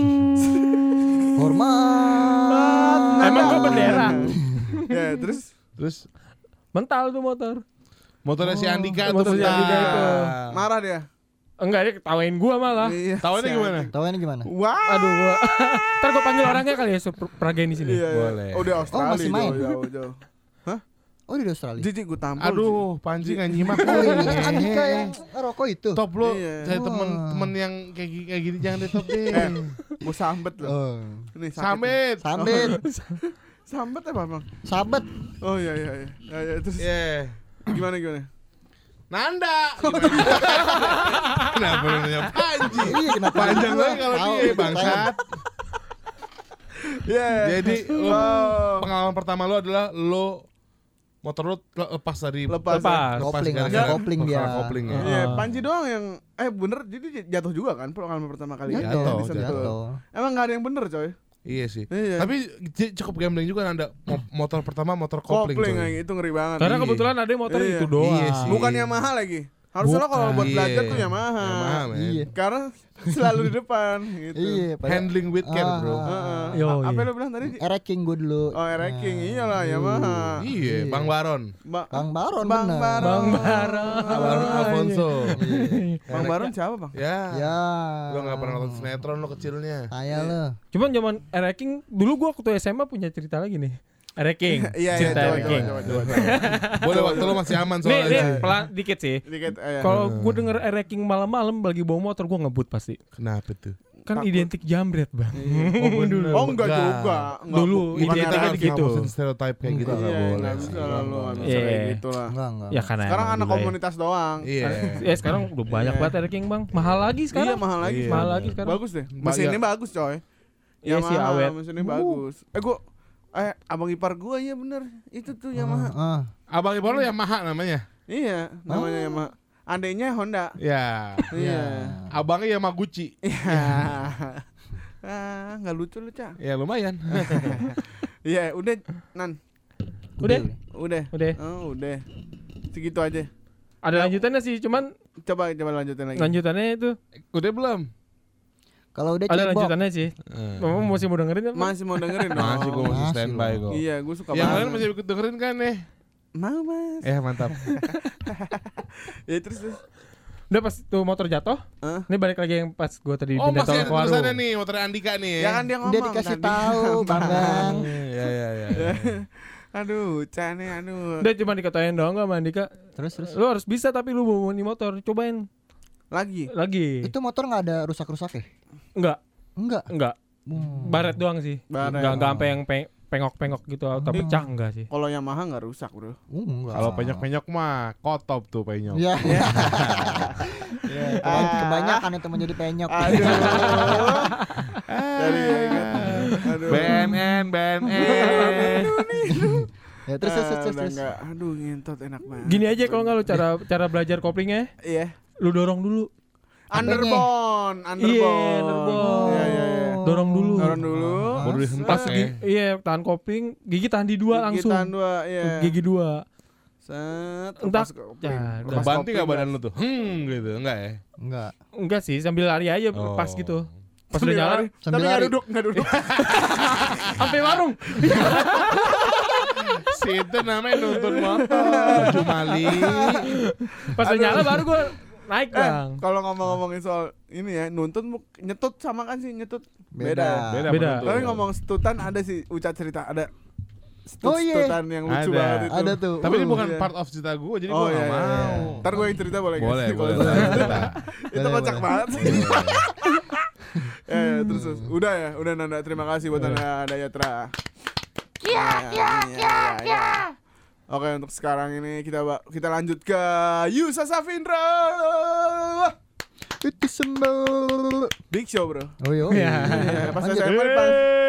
Hormat. Emang gue bendera. Ya terus Terus Mental tuh motor. motornya si Andika tuh motor si Andika itu. marah dia. Enggak, dia ketawain gua malah. Iya. Tahunya gimana? Tahu ini gimana? Wah. Aduh, gua. Ntar gua panggil orangnya kali ya, peragain di sini. Iya, iya. Boleh. Oh, di Australia. masih main? Jauh. Oh di Australia. Jijik gue tampol. Aduh, Panji nggak nyimak. Oh ini kan Andika yang rokok itu. Top lu, Iya. saya Wah. temen yang kayak gini jangan di top deh. Gue sambet loh. Oh. Ini sakit. Samit. Sambit, Sambet apa bang? sabet. Oh iya. Ya, terus Yeah. gimana? Nanda. Kenapa lu nanya Panji? Iya kenapa? Panjang banget kalau Tahu, dia bangsat. Iya. Jadi lu, Oh. pengalaman pertama lu adalah lu motor lu lepas dari Lepas. Kopling, gara-gara kopling dia. masalah kopling ya. Iya, Panji doang yang bener jadi jatuh juga kan pengalaman pertama kali. Jatuh, Di Sentul. Jatuh. Emang nggak ada yang bener coy. Iya sih. Iya. Tapi cukup gambling juga Nanda. Motor pertama motor kopling. Kopling coy. kayak itu ngeri banget. Karena Iya. kebetulan ada motor Iya. itu doang. Iya sih. Bukan Yamaha lagi. Harusnya lo kalau buat Iya. belajar tuh Yamaha. Yamaha, men. Iya. Karena selalu di depan gitu. Iya, Handling with care, bro. Heeh. Yo, Apa iya. lo bilang tadi? King gue dulu. Oh, King. Iyalah Yamaha. Iya, Bang Baron. Bang Baron Bang bener. Baron. Bang Baron. Baron Alfonso. Bang Baron siapa, Bang? Ya. Ya. Gua enggak pernah nonton sinetron lo kecilnya. Saya lo. Cuman zaman King dulu gua waktu SMA punya cerita lagi nih. Ranking. Iya, Cinta coba, ranking. coba. Boleh waktu lu masih aman Nih soalnya. pelan dikit sih. Dikit, Kalau gue denger ranking malam-malam lagi bawa motor gue ngebut pasti. Kenapa tuh? Kan Takut. identik jambret bang. Oh enggak juga. Enggak, Dulu bukan identiknya era- gitu. Ngomongin stereotype kayak gitu Enggak. nggak Iya, boleh. enggak bisa lah lu, nggak bisa Iya. kayak gitu lah. Enggak. Ya karena Sekarang emang anak juga ya. komunitas doang. Iya. Sekarang udah banyak banget ranking bang. Mahal lagi Iya, sekarang. mahal lagi. Iya. Mahal lagi sekarang. Bagus deh. Mesinnya bagus, coy. Iya sih, Yamaha, awet. mesinnya bagus. Abang ipar gua iya bener. Itu tuh Yamaha. Abang ipar lu Yamaha namanya. Iya, namanya Yamaha. Adanya Honda. Ya. Iya. Abangnya Yamaguchi. Iya. Enggak lucu lu, Cak. Ya lumayan. Iya, udah Nan. Udah. Udah. Oh, udah. Segitu aja. Ada lanjutannya sih, cuman Coba lanjutin lagi. lanjutannya itu Udah belum? Kalau udah ada cebok. lanjutannya sih. Mama masih mau dengerin kan? Masih mau dengerin dong? Masih gue masih Masih standby loh. kok. Iya, gue suka Yang lain banget. masih ikut dengerin kan nih? Mau, Mas. Mantap. Ya terus. Udah pas tuh motor jatuh. Hah? Ini balik lagi yang pas gue tadi Oh pindah masih tolong ada ke warung. tulisannya nih, motor Andika nih. Ya kan dia ngomong Udah dikasih tadi. tahu, Bang. Iya. Aduh, Cane, aduh. Udah cuma dikatain doang gak sama Andika. Terus. Lu harus bisa tapi lu bawa nih motor. Cobain Lagi. lagi. Itu motor enggak ada rusak-rusak ya? Enggak. Enggak. Baret doang sih. Baret. Enggak sampai yang pengok-pengok gitu atau pecah enggak sih. Kalau Yamaha enggak rusak, Bro. Enggak. Kalau penyok-penyok mah kotop tuh penyok. Iya. Kebanyakan itu menjadi penyok. Aduh. Dari ya kan. Aduh. BNN. Ya terus. Udah enggak. Aduh, ngentot enak banget. Gini aja kalau enggak lu cara belajar koplingnya, Iya. lu dorong dulu. Underbone. Iya, underbone. Iya. Dorong dulu. Dorong dulu. Baru Pas dihentak ya. iya tahan kopling, gigi tahan di dua langsung. Gigitan dua, iya. Gigi dua. Set. Entar. lepas kopling. Ya, Lepas Kebanting kopling, gak badan Mas. lu tuh? Gitu, enggak ya? Enggak. Enggak sih, sambil lari aja Oh. pas gitu. Pas Sambil udah nyala, lari. Sambil Tapi nggak lari. duduk, nggak duduk. sampai warung. Si itu namanya nuntun motor, Jumali. Pas udah nyala baru gua naik bang. Kalau ngomong-ngomongin soal ini ya, nuntun nyetut sama kan sih nyetut? Beda. Beda. Beda. menuntun. Tapi ngomong setutan ada sih Uca cerita ada Oh, iya. setutan yang lucu Ada. banget itu. Ada tuh. Tapi ini bukan Iya. part of cerita gue, jadi Oh gue iya, gak iya, iya. mau. Ntar gue yang cerita boleh nggak Boleh, sih? Kalau boleh. cerita. Itu Boleh, kocak boleh. banget sih. Terus. Udah ya, udah Nanda. Terima kasih buat Nanda Dayatra. Iya. Oke, untuk sekarang ini kita lanjut ke Yusa Safindra. Itu sembel. Big Show, Bro. Oh iya. Iya, pas Lanjut. SMA pas.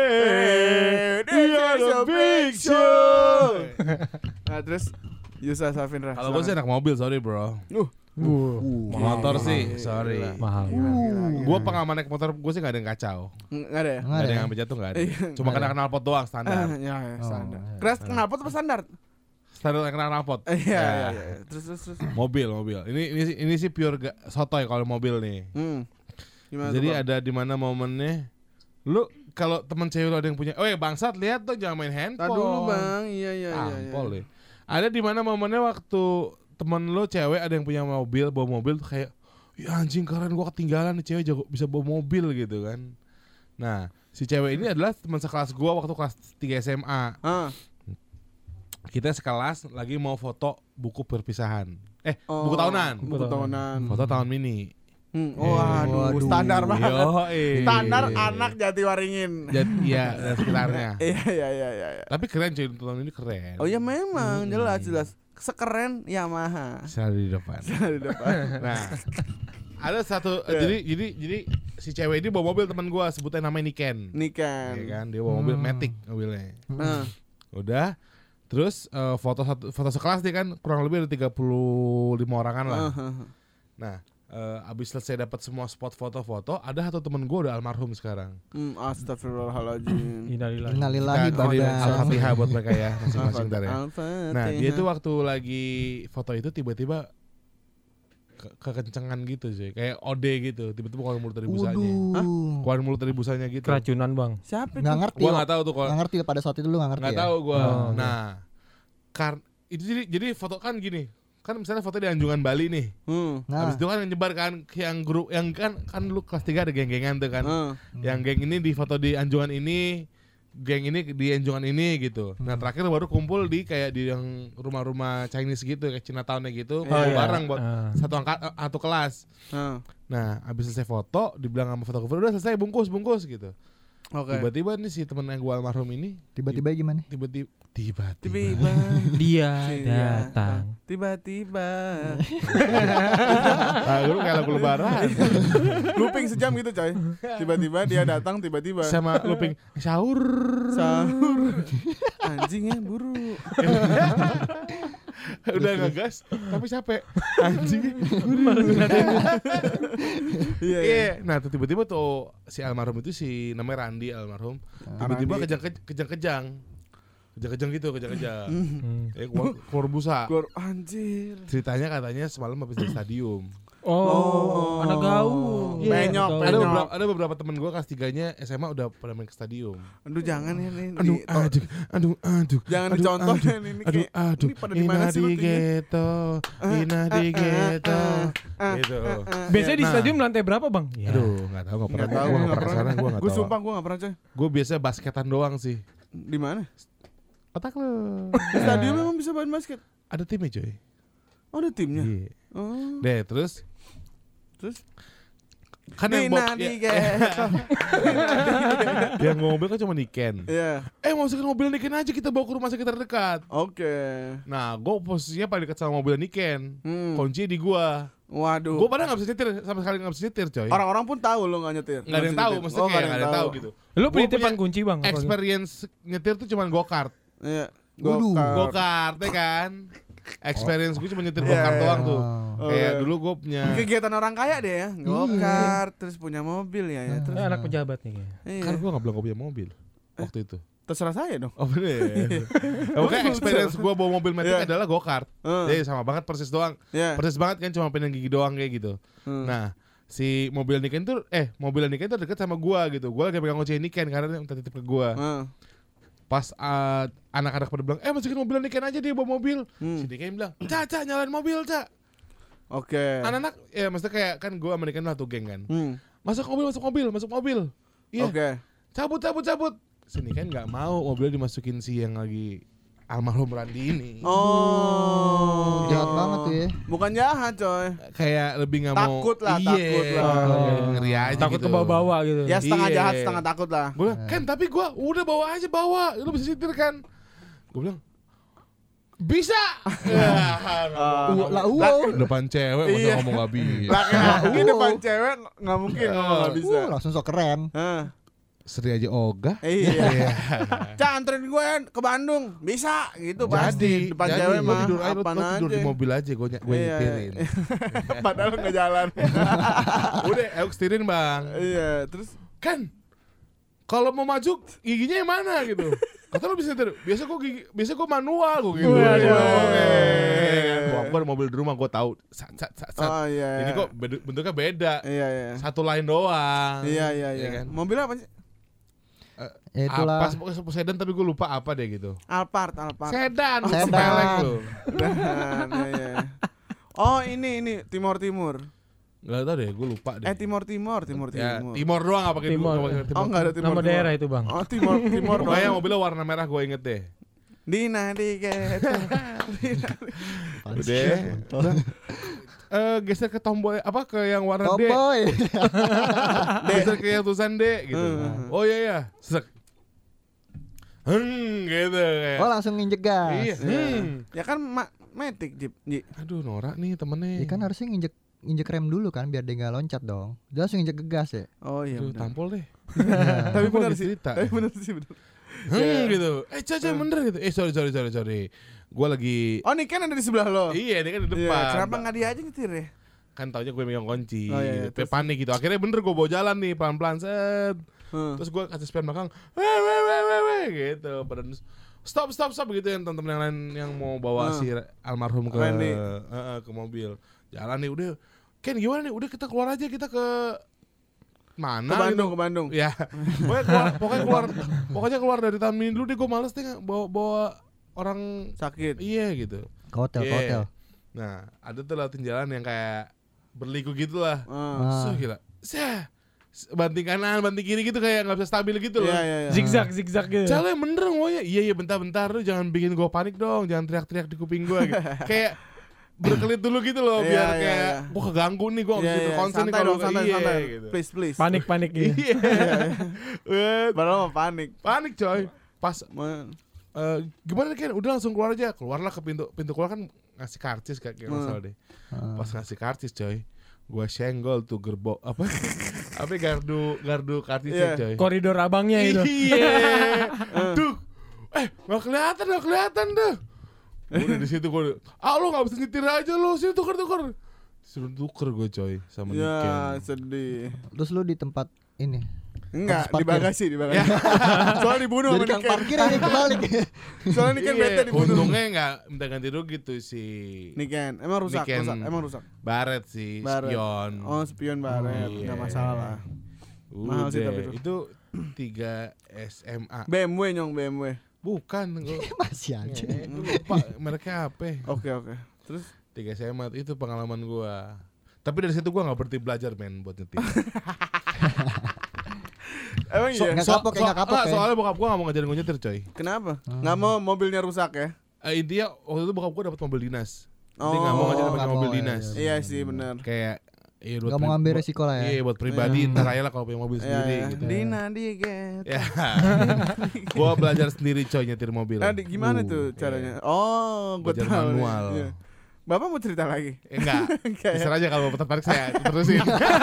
Dia the Big Show. Nah, terus Yusa Safindra. Kalau gue sih anak mobil, sorry bro. Motor sih, sorry. Mahal. Gue pengaman naik motor, gue sih gak ada yang kacau. Enggak ada ya? Gak ada yang sampai jatuh, gak ada. Cuma kena knalpot doang, standar. Ya, standar. Keras kenapa tuh standar? Standar kena knalpot. Iya. Terus. Mobil. Ini sih pure sotoy kalau mobil nih. Gimana Jadi tuh, Bang? ada di mana momennya, lu kalau teman cewek lu ada yang punya, bangsat lihat tuh jangan main handphone. Tar dulu, Bang. Iya. Tampol deh. Ada di mana momennya waktu temen lu cewek ada yang punya mobil, bawa mobil tuh kayak, ya anjing keren gua ketinggalan nih cewek jago bisa bawa mobil gitu kan. Nah, si cewek ini adalah teman sekelas gua waktu kelas 3 SMA. Kita sekelas lagi mau foto buku perpisahan. Buku tahunan. Buku tahunan. Foto tahun mini. Waduh, standar banget. Yoi. Standar anak Jatiwaringin. Iya, dan sekitarnya. Iya. Tapi keren cuy, tahun ini keren. Oh ya memang jelas. Sekeren Yamaha. Selalu di depan. Di depan. Nah, ada satu jadi si cewek ini bawa mobil teman gua, sebutnya namanya Niken. Niken. Iya kan, dia bawa mobil Matic mobilnya. Nah, Udah. Terus foto sekelas dia kan kurang lebih ada 35 orangan lah. Nah, abis selesai dapat semua spot foto-foto, ada satu temen gue udah almarhum sekarang. Astagfirullahaladzim. Innalillahi Kita badang. Al-Fatihah buat mereka ya masing-masing ntar ya. Al-Fatihah. Nah dia tuh waktu lagi foto itu tiba-tiba kekencengan gitu sih, kayak OD gitu, tiba-tiba keluar mulut dari busanya. Keluar mulut dari busanya gitu. Keracunan bang. Siapa Nggak itu? ngerti. Gua nggak tahu tuh kalau Nggak ngerti pada saat itu lu nggak ngerti. nggak ya? tahu gua. Oh, Nah, itu jadi foto kan gini. Kan misalnya foto di Anjungan Bali nih. Nah, Habis itu kan yang nyebar kan yang grup yang kan lu kelas 3 ada geng-gengan tuh kan. Yang geng ini di foto di Anjungan ini geng ini di Enjongan ini gitu. Nah terakhir baru kumpul di kayak di yang rumah-rumah Chinese gitu kayak Chinatown-nya gitu, Oh, iya. bareng buat satu kelas. Heeh. Nah abis selesai foto dibilang sama fotografer udah selesai bungkus gitu. Oke. Tiba-tiba nih si temen yang gua almarhum ini Tiba-tiba gimana? tiba-tiba Tiba-tiba Dia Iya. datang. Tiba-tiba lu kayak lagu lebaran looping sejam gitu coy. Tiba-tiba dia datang tiba-tiba sama looping sahur. Anjingnya buru. Udah ngegas tapi capek anjing. Iya. Iya. Nah tuh tiba-tiba tuh si almarhum itu si namanya Randi almarhum tiba-tiba kejang-kejang gitu kejang-kejang. Keluar busa. Gua anjir. Ceritanya katanya semalam habis dari stadium. Oh, anak gaul. Penyok, Anak gaul. penyok. Ada beberapa temen gue kelas 3-nya SMA udah pada main ke stadium. Aduh jangan ya nih. Aduh. Jangan aduh, dicontohin ini kayak Aduh. ini pada di mana sih lu tuh? Ina di ghetto. Gitu. Biasanya di Nah. stadium lantai berapa, Bang? Ya. Aduh, enggak tahu, enggak pernah. Enggak tahu, Gua enggak enggak pernah pernah. sana, gua enggak Gue tahu. sumpah gue gak pernah coy. Gue biasa basketan doang sih. Di mana? Otak lu. Di stadium memang bisa main basket. Ada timnya, coy. Oh ada timnya. Iya. Oh. Deh, terus kan yang Dina di ghetto. yang mobil kan cuma Niken. Iya. Masukin mobil Niken aja kita bawa ke rumah sakit terdekat. Oke. Nah, gue posisinya paling dekat sama mobil Niken. Kunci di gua. Waduh. Gue padahal nggak bisa nyetir, sama sekali nggak bisa nyetir, coy. Orang-orang pun tahu lo gak nyetir. Nggak ada yang tahu, maksudnya kayak nggak ada yang tahu gitu. Lu Gua penitipan punya kunci, Bang? apa? Experience nyetir tuh cuma go-kart. Iya. Waduh. Go-kart ya kan. Experience gue cuma nyetir Iya, go-kart iya. doang tuh. Oh, Kayak iya. dulu gue punya Kegiatan orang kaya deh ya. Go-kart, terus punya mobil ya. Terus Anak pejabat nih kayaknya. iya. kan gue nggak bilang gue punya mobil waktu itu. Terserah saya dong. Oh bener. Oke, experience gue bawa mobil metik Iya. adalah go-kart. Jadi sama banget persis doang. Iya. Persis banget kan cuma pindahin gigi doang kayak gitu. Nah, si mobil Niken tuh mobil Niken tuh deket sama gua gitu. Gua lagi pegang kunci Niken karena dia minta titip ke gua. Pas anak-anak pada bilang, masukin mobil Niken aja dia bawa mobil. Si Niken bilang, Ca, nyalain mobil, Ca. Oke. Anak-anak, ya maksudnya kayak kan gua sama Niken lah tuh geng kan. Masuk mobil. Iya. Oke. Cabut. Si Niken nggak mau mobilnya dimasukin si yang lagi almarhum Randi ini. Oh. Jahat banget tuh ya. Bukan jahat, coy. Kayak lebih nggak mau. Takut lah, Iya, takut lah. ngeri aja Takut gitu. ke bawah-bawah gitu. Ya setengah Iya. jahat, setengah takut lah. Gue bilang, Ken tapi gue udah bawa aja lu bisa setir kan? Gue bilang bisa. Depan cewek masa Iya. ngomong gak bisa. Laki-laki depan cewek nggak mungkin ngomong nggak bisa. Langsung sok keren. Hah. Seri aja ogah. Iya. Ca, anterin gue ke Bandung. Bisa gitu pasti. Depan cewek Lu mah tidur aja, lu apaan tidur aja. di mobil aja gue Iya. nyetirin. Padahal nggak jalan. Udah, aku setirin bang. Iya, terus Kan kalau mau maju giginya yang mana gitu? Kata lu bisa nyetir. Biasa gue manual gue gitu. Gue ada mobil di rumah gue tahu. Sat. oh iya. Ini kok bentuknya beda. Iya. Satu line doang. Iya. Ya kan? Mobil apa sih? Ya itulah. Apa pokoknya sedan tapi gue lupa apa deh gitu. Alphard. Sedan, Sedan. sepelek lu. Dan, iya. Oh, ini Timur. Gak tau deh, gue lupa deh. Timur. Ya, Timor doang apa pakai Timor. Oh, enggak ada Timur. Nama daerah itu, Bang. Oh, Timur Pokoknya doang. mobilnya warna merah gue inget deh. Dina di ghetto. Udah. Geser ke tombol ke yang warna D. Tomboy. Geser ke yang tulisan D gitu. Oh iya. Sek. Gitu kayak. Oh langsung nginjek gas. Iya. Ya kan Matic Jeep. Aduh, norak nih temennya. Ya kan harusnya nginjek rem dulu kan biar dia nggak loncat dong. Dia langsung nginjek ke gas ya. Oh iya Aduh, benar. tampol deh. Tapi Gua benar lagi sih. cerita. Tapi benar sih benar. Gitu. Caca bener gitu. Sorry. Gue lagi. Oh, ini kan ada di sebelah lo. Iya, ini kan di Iya, depan. kenapa nggak dia aja nyetir ya? Kan taunya gue megang kunci. Oh, iya, Kayak panik gitu. Akhirnya bener gue bawa jalan nih pelan-pelan set. Terus gue kasih spion belakang. Weh gitu. Pada stop gitu yang teman-teman yang lain yang mau bawa si almarhum ke ke mobil. Jalan nih udah. Ken gimana nih? Udah kita keluar aja, kita ke mana? Ke Bandung. Ya. Pokoknya keluar dari taman mini dulu deh, gue males deh bawa orang Sakit. iya gitu. Ke hotel. Nah, ada tuh lewatin jalan yang kayak berliku gitu lah. Ah. So gila. banting kanan, banting kiri gitu kayak nggak bisa stabil gitu loh. Iya. Zigzag gitu. Cale bener ngomongnya. Iya bentar lu jangan bikin gue panik dong, jangan teriak-teriak di kuping gue gitu. Kayak berkelit dulu gitu loh Iya, biar iya, kayak iya. gue keganggu nih, gue Iya, gitu iya. konsen nih Santai kalau dong, santai. gitu. Please. Panik gitu. Iya. Padahal mah panik. Panik coy. Pas Man. gimana Ken? Udah langsung keluar aja. Keluarlah ke pintu keluar kan ngasih karcis kayak nggak salah deh. Pas ngasih karcis coy, gua senggol tuh gerbong apa gardu karcisnya Iya. coy. Koridor abangnya itu. Iya. Tuh. Nggak kelihatan tuh. Udah di situ gua, lu nggak bisa nyetir aja lu, sini tuker. Suruh tuker gue coy sama Ya Niken. sedih. Terus lu di tempat ini. Enggak, Habis di bagasi. Soalnya dibunuh Jadi sama kang Niken. parkir ini kebalik. Soalnya Niken bete Iya, dibunuh. untungnya nggak minta ganti rugi tuh si Niken, emang rusak. Baret sih, Baret. spion. Oh, spion baret, Iya. enggak masalah. Mahal sih tapi itu 3 SMA. BMW nyong, BMW. Bukan, gua Masih aja. lupa mereknya apa. Oke. Terus 3 SMA itu pengalaman gua. Tapi dari situ gua nggak berhenti belajar buat nyetir. emang iya. Nggak kapok ya. Soalnya bokap gua nggak mau ngajarin gua nyetir coy. Kenapa? Enggak mau mobilnya rusak ya? Intinya waktu itu bokap gua dapat mobil dinas. Dia Oh. nggak mau ngajarin pakai nggak mobil mau, dinas. Iya sih benar. Kayak buat Gak mau ngambil resiko lah ya. Iya buat pribadi ntar aja lah kalau punya mobil sendiri gitu. Dina diget. Ya. Gua belajar sendiri coy nyetir mobil. Gimana tuh caranya? Oh, gue Belajar tahu. manual. Iya. Bapak mau cerita lagi? Enggak. Kayak- Terserah aja kalau tertarik saya terusin.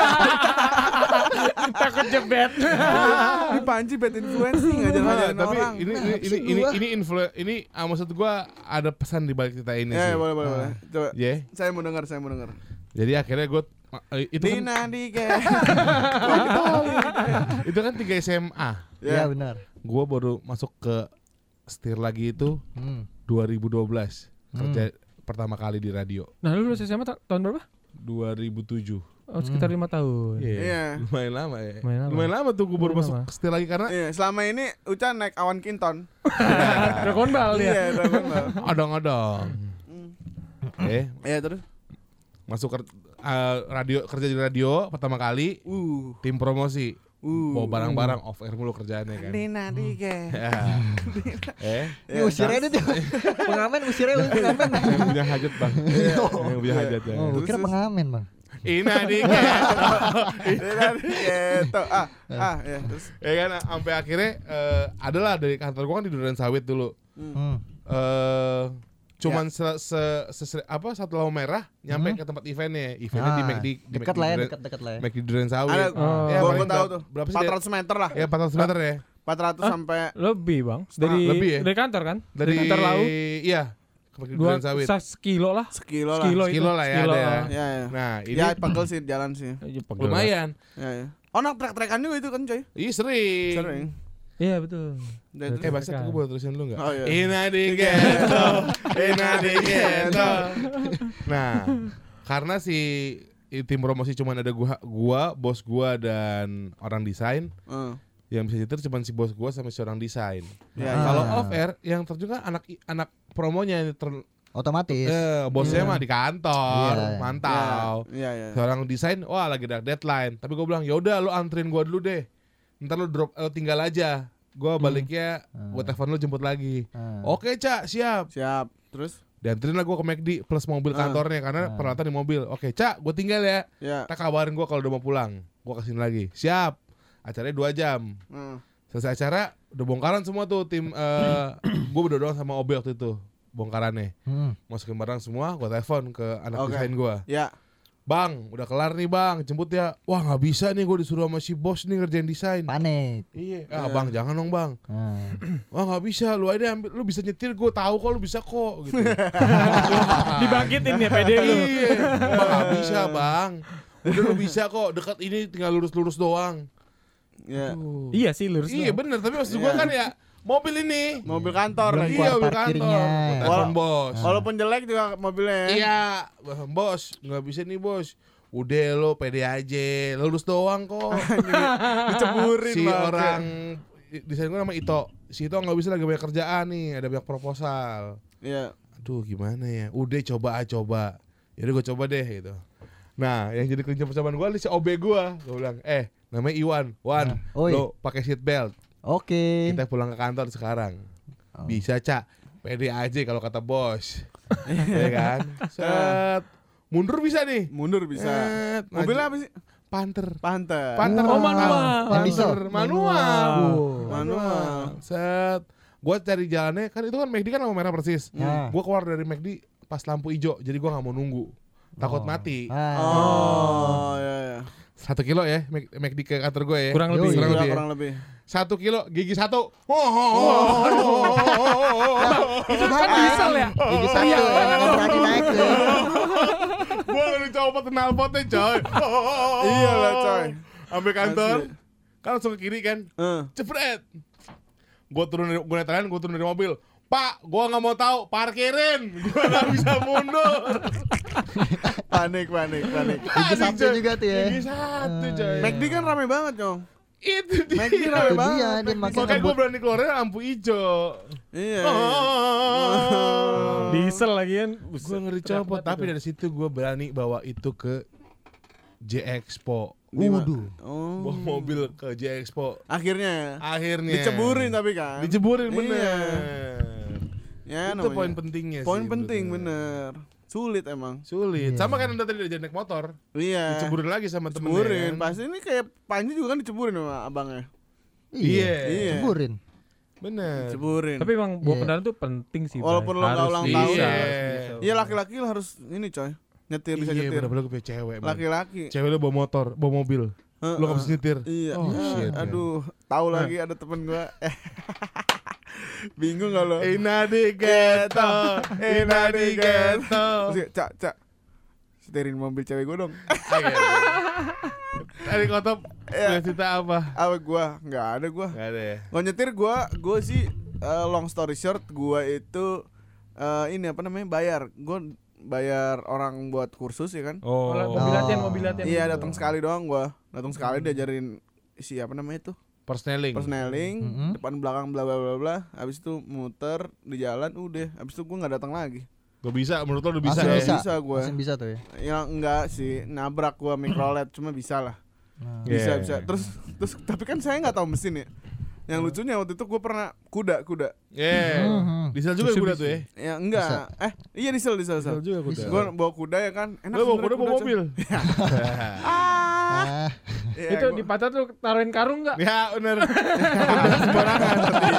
Takut jebet. Ini Panji bad influencing ngajarin Tapi orang. ini maksud gua ada pesan di balik cerita ini Ya, sih. boleh. Coba. Ya. Saya mau dengar. Jadi akhirnya gue itu kan, Dina diget. itu kan 3 SMA. Iya benar. Gue baru masuk ke setir lagi itu 2012 kerja pertama kali di radio. Nah, lu lulus SMA tahun berapa? 2007. Oh, sekitar 5 tahun. Iya. Lumayan lama ya. Lumayan lama. tuh gue baru Lumayan masuk lama. ke setir lagi karena Iya, selama ini Uca naik awan Kinton. Dragon Ball dia. Iya, Dragon Ball. odong-odong. Iya, terus. Masuk kerja di radio pertama kali, tim promosi. Bawa barang-barang off air mulu kerjaannya kan. Dina diget. Ini usirnya itu. Pengamen usirnya pengamen. Yang punya hajat bang. Yang punya hajat ya. Oh, gue kira pengamen bang. Ina diket. Dina diget. Ya, terus. Ya kan sampai akhirnya adalah dari kantor gua kan di Duren Sawit dulu. Cuman satu lampu merah nyampe ke tempat eventnya di McD Dekat lah ya, dekat lah ya. McD Duren Sawit. Ada, Ya, gua paling tahu tuh. berapa sih? 400 meter lah. Ya 400 meter ya. 400 sampai Lebih, Bang. Lebih ya? Dari kantor kan? Dari kantor laut. Iya. Ke McD Duren Sawit. Sekilo lah. sekilo lah. Sekilo lah ya ada ya. Ya. Nah, ini Ya, pegel sih jalan sih. lumayan. Ya. Oh, nak trek-trekan juga itu kan, coy. Iya sering. Sering. Iya, betul. Udah, terus. Bangsat gue boleh terusin dulu gak? Oh, iya. Ina di ghetto. Nah, karena tim promosi cuma ada gua, bos gua dan orang desain. Yang bisa nyetir cuma si bos gua sama si orang desain. Ya, Kalau off air yang terjun kan anak promonya yang Otomatis. bosnya mah di kantor, Iya. mantau. Iya. Seorang desain, wah lagi ada deadline. Tapi gue bilang, yaudah lu anterin gue dulu deh. Ntar lu tinggal aja. Gue baliknya, gue telepon lu jemput lagi. Oke Cak, siap. Siap. Terus? Dianterin lah gue ke McD plus mobil kantornya karena peralatan di mobil. Oke Cak, gue tinggal ya. Ya. Tak kabarin gue kalau udah mau pulang. Gue kesini lagi. Siap. Acaranya 2 jam. Selesai acara, udah bongkaran semua tuh tim. Gue berdua doang sama OB waktu itu. Bongkarannya. Masukin barang semua, gue telepon ke anak desain gue. Ya. Bang, udah kelar nih bang, jemput ya. Wah nggak bisa nih, gue disuruh sama si bos nih ngerjain desain. Panik. Iya. Bang, jangan dong bang. Wah nggak bisa, lu aja ambil, lu bisa nyetir, gue tahu kok lu bisa kok. Gitu. Dibangkitin ya pede lu. Iya. Bang nggak bisa bang. Udah lu bisa kok, dekat ini tinggal lurus-lurus doang. Ya. Iya sih lurus. Iya bener, tapi maksud gue kan ya mobil ini. Mobil kantor lagi. Iya, mobil parkirnya. kantor. Telepon bos. Walaupun jelek juga mobilnya. Iya, bos, nggak bisa nih bos. Udah lo pede aja, lulus doang kok. Diceburin Si banget. orang desain gue nama Ito. Si Ito nggak bisa lagi banyak kerjaan nih, ada banyak proposal. Iya. Aduh gimana ya? Udah coba. Yaudah gue coba deh gitu. Nah, yang jadi kunci percobaan gue si OB gue bilang, Namanya Iwan. Wan, Oi. lo pakai seat belt. Oke. Kita pulang ke kantor sekarang. Oh. Bisa, Cak. Pede aja kalau kata bos. Ya kan? Set. Mundur bisa nih. Mundur bisa. Set. Mobilnya apa sih? Panther. Panter. Panther. Oh, manual. Yang diesel. Panther. Manual. Manual. Set. Gua cari jalannya, kan itu kan McD kan lampu merah persis. Nah. Gua keluar dari McD pas lampu hijau, jadi gua nggak mau nunggu. Takut mati. Oh, ya ya. 1 kilo ya, McD ke kantor gue ya. Kurang Yoi. lebih. Kurang lebih. Kurang lebih. 1 kilo, gigi 1. Itu kan diesel ya. Gigi satu yang berani naik tuh. Gue udah copot knalpotnya coy. Iya lah coy. Sampai kantor, Asli. kan langsung ke kiri kan. Eh. Cepret. Gue turun dari mobil. Pak, gue nggak mau tahu, parkirin. Gue nggak bisa mundur. Panik. Gigi satu juga tuh ya. Gigi 1 coy. McD kan rame banget, Cong. Itu dia. McD rame Itu banget. dia, dia makin Makanya gue ngebut. berani keluarnya lampu hijau. Iya. Diesel lagi kan. Gue ngeri copot, tapi dari situ gue berani bawa itu ke J Expo. Waduh. Oh. Bawa mobil ke J Expo. Akhirnya Akhirnya diceburin tapi kan. Diceburin Iya. bener. Ya, Itu namanya. poin pentingnya sih. Poin penting bener. Sulit emang. Sulit. Iya. Sama kan anda tadi diajak naik motor. Iya. Diceburin lagi sama temennya. Ceburin. kan? Pasti ini kayak Panji juga kan diceburin sama abangnya. Iya. Iya. Ceburin. Bener. Ceburin. Tapi emang bawa Iya. kendaraan tuh penting sih. Walaupun lo nggak Harus ulang bisa, tahun. harus bisa. Iya, laki-laki lo harus ini coy. Nyetir bisa Iya nyetir. bener-bener gue punya cewek. man. Laki-laki. Cewek lu bawa motor, bawa mobil. Lu gak bisa nyetir. Iya. Oh, shit, man. Aduh, tahu lagi ada temen gua. Bingung gak lo? Ina di ghetto, Ina di ghetto. Terus kayak, Cak, setirin mobil cewek gua dong. Tadi kotop punya cerita apa? Apa gua? Nggak ada gua. Gak ada ya. Nggak nyetir gua sih long story short gua itu ini apa namanya bayar orang buat kursus ya kan. Oh, Mobil latihan. Iya datang sekali doang gua sekali diajarin isi apa namanya itu persneling. persneling Mm-hmm. depan belakang bla bla bla bla habis itu muter di jalan udah habis itu gua nggak datang lagi. Gak bisa, menurut lo udah bisa Langsung ya? Bisa gua. Langsung bisa tuh ya. Ya enggak sih nabrak gua mikrolet cuma bisa lah. Nah. Iya. Bisa terus tapi kan saya nggak tahu mesin ya. Yang lucunya waktu itu gue pernah kuda. Yeah. Diesel juga kuda tuh ya? Ya enggak. Iya diesel. Diesel juga kuda. Gue bawa kuda ya kan. Enak Lo bawa sebenarnya kuda bawa mobil? Ah, Iya, Itu gua- di patah tuh taruhin karung enggak? Ya bener. Sembarangan.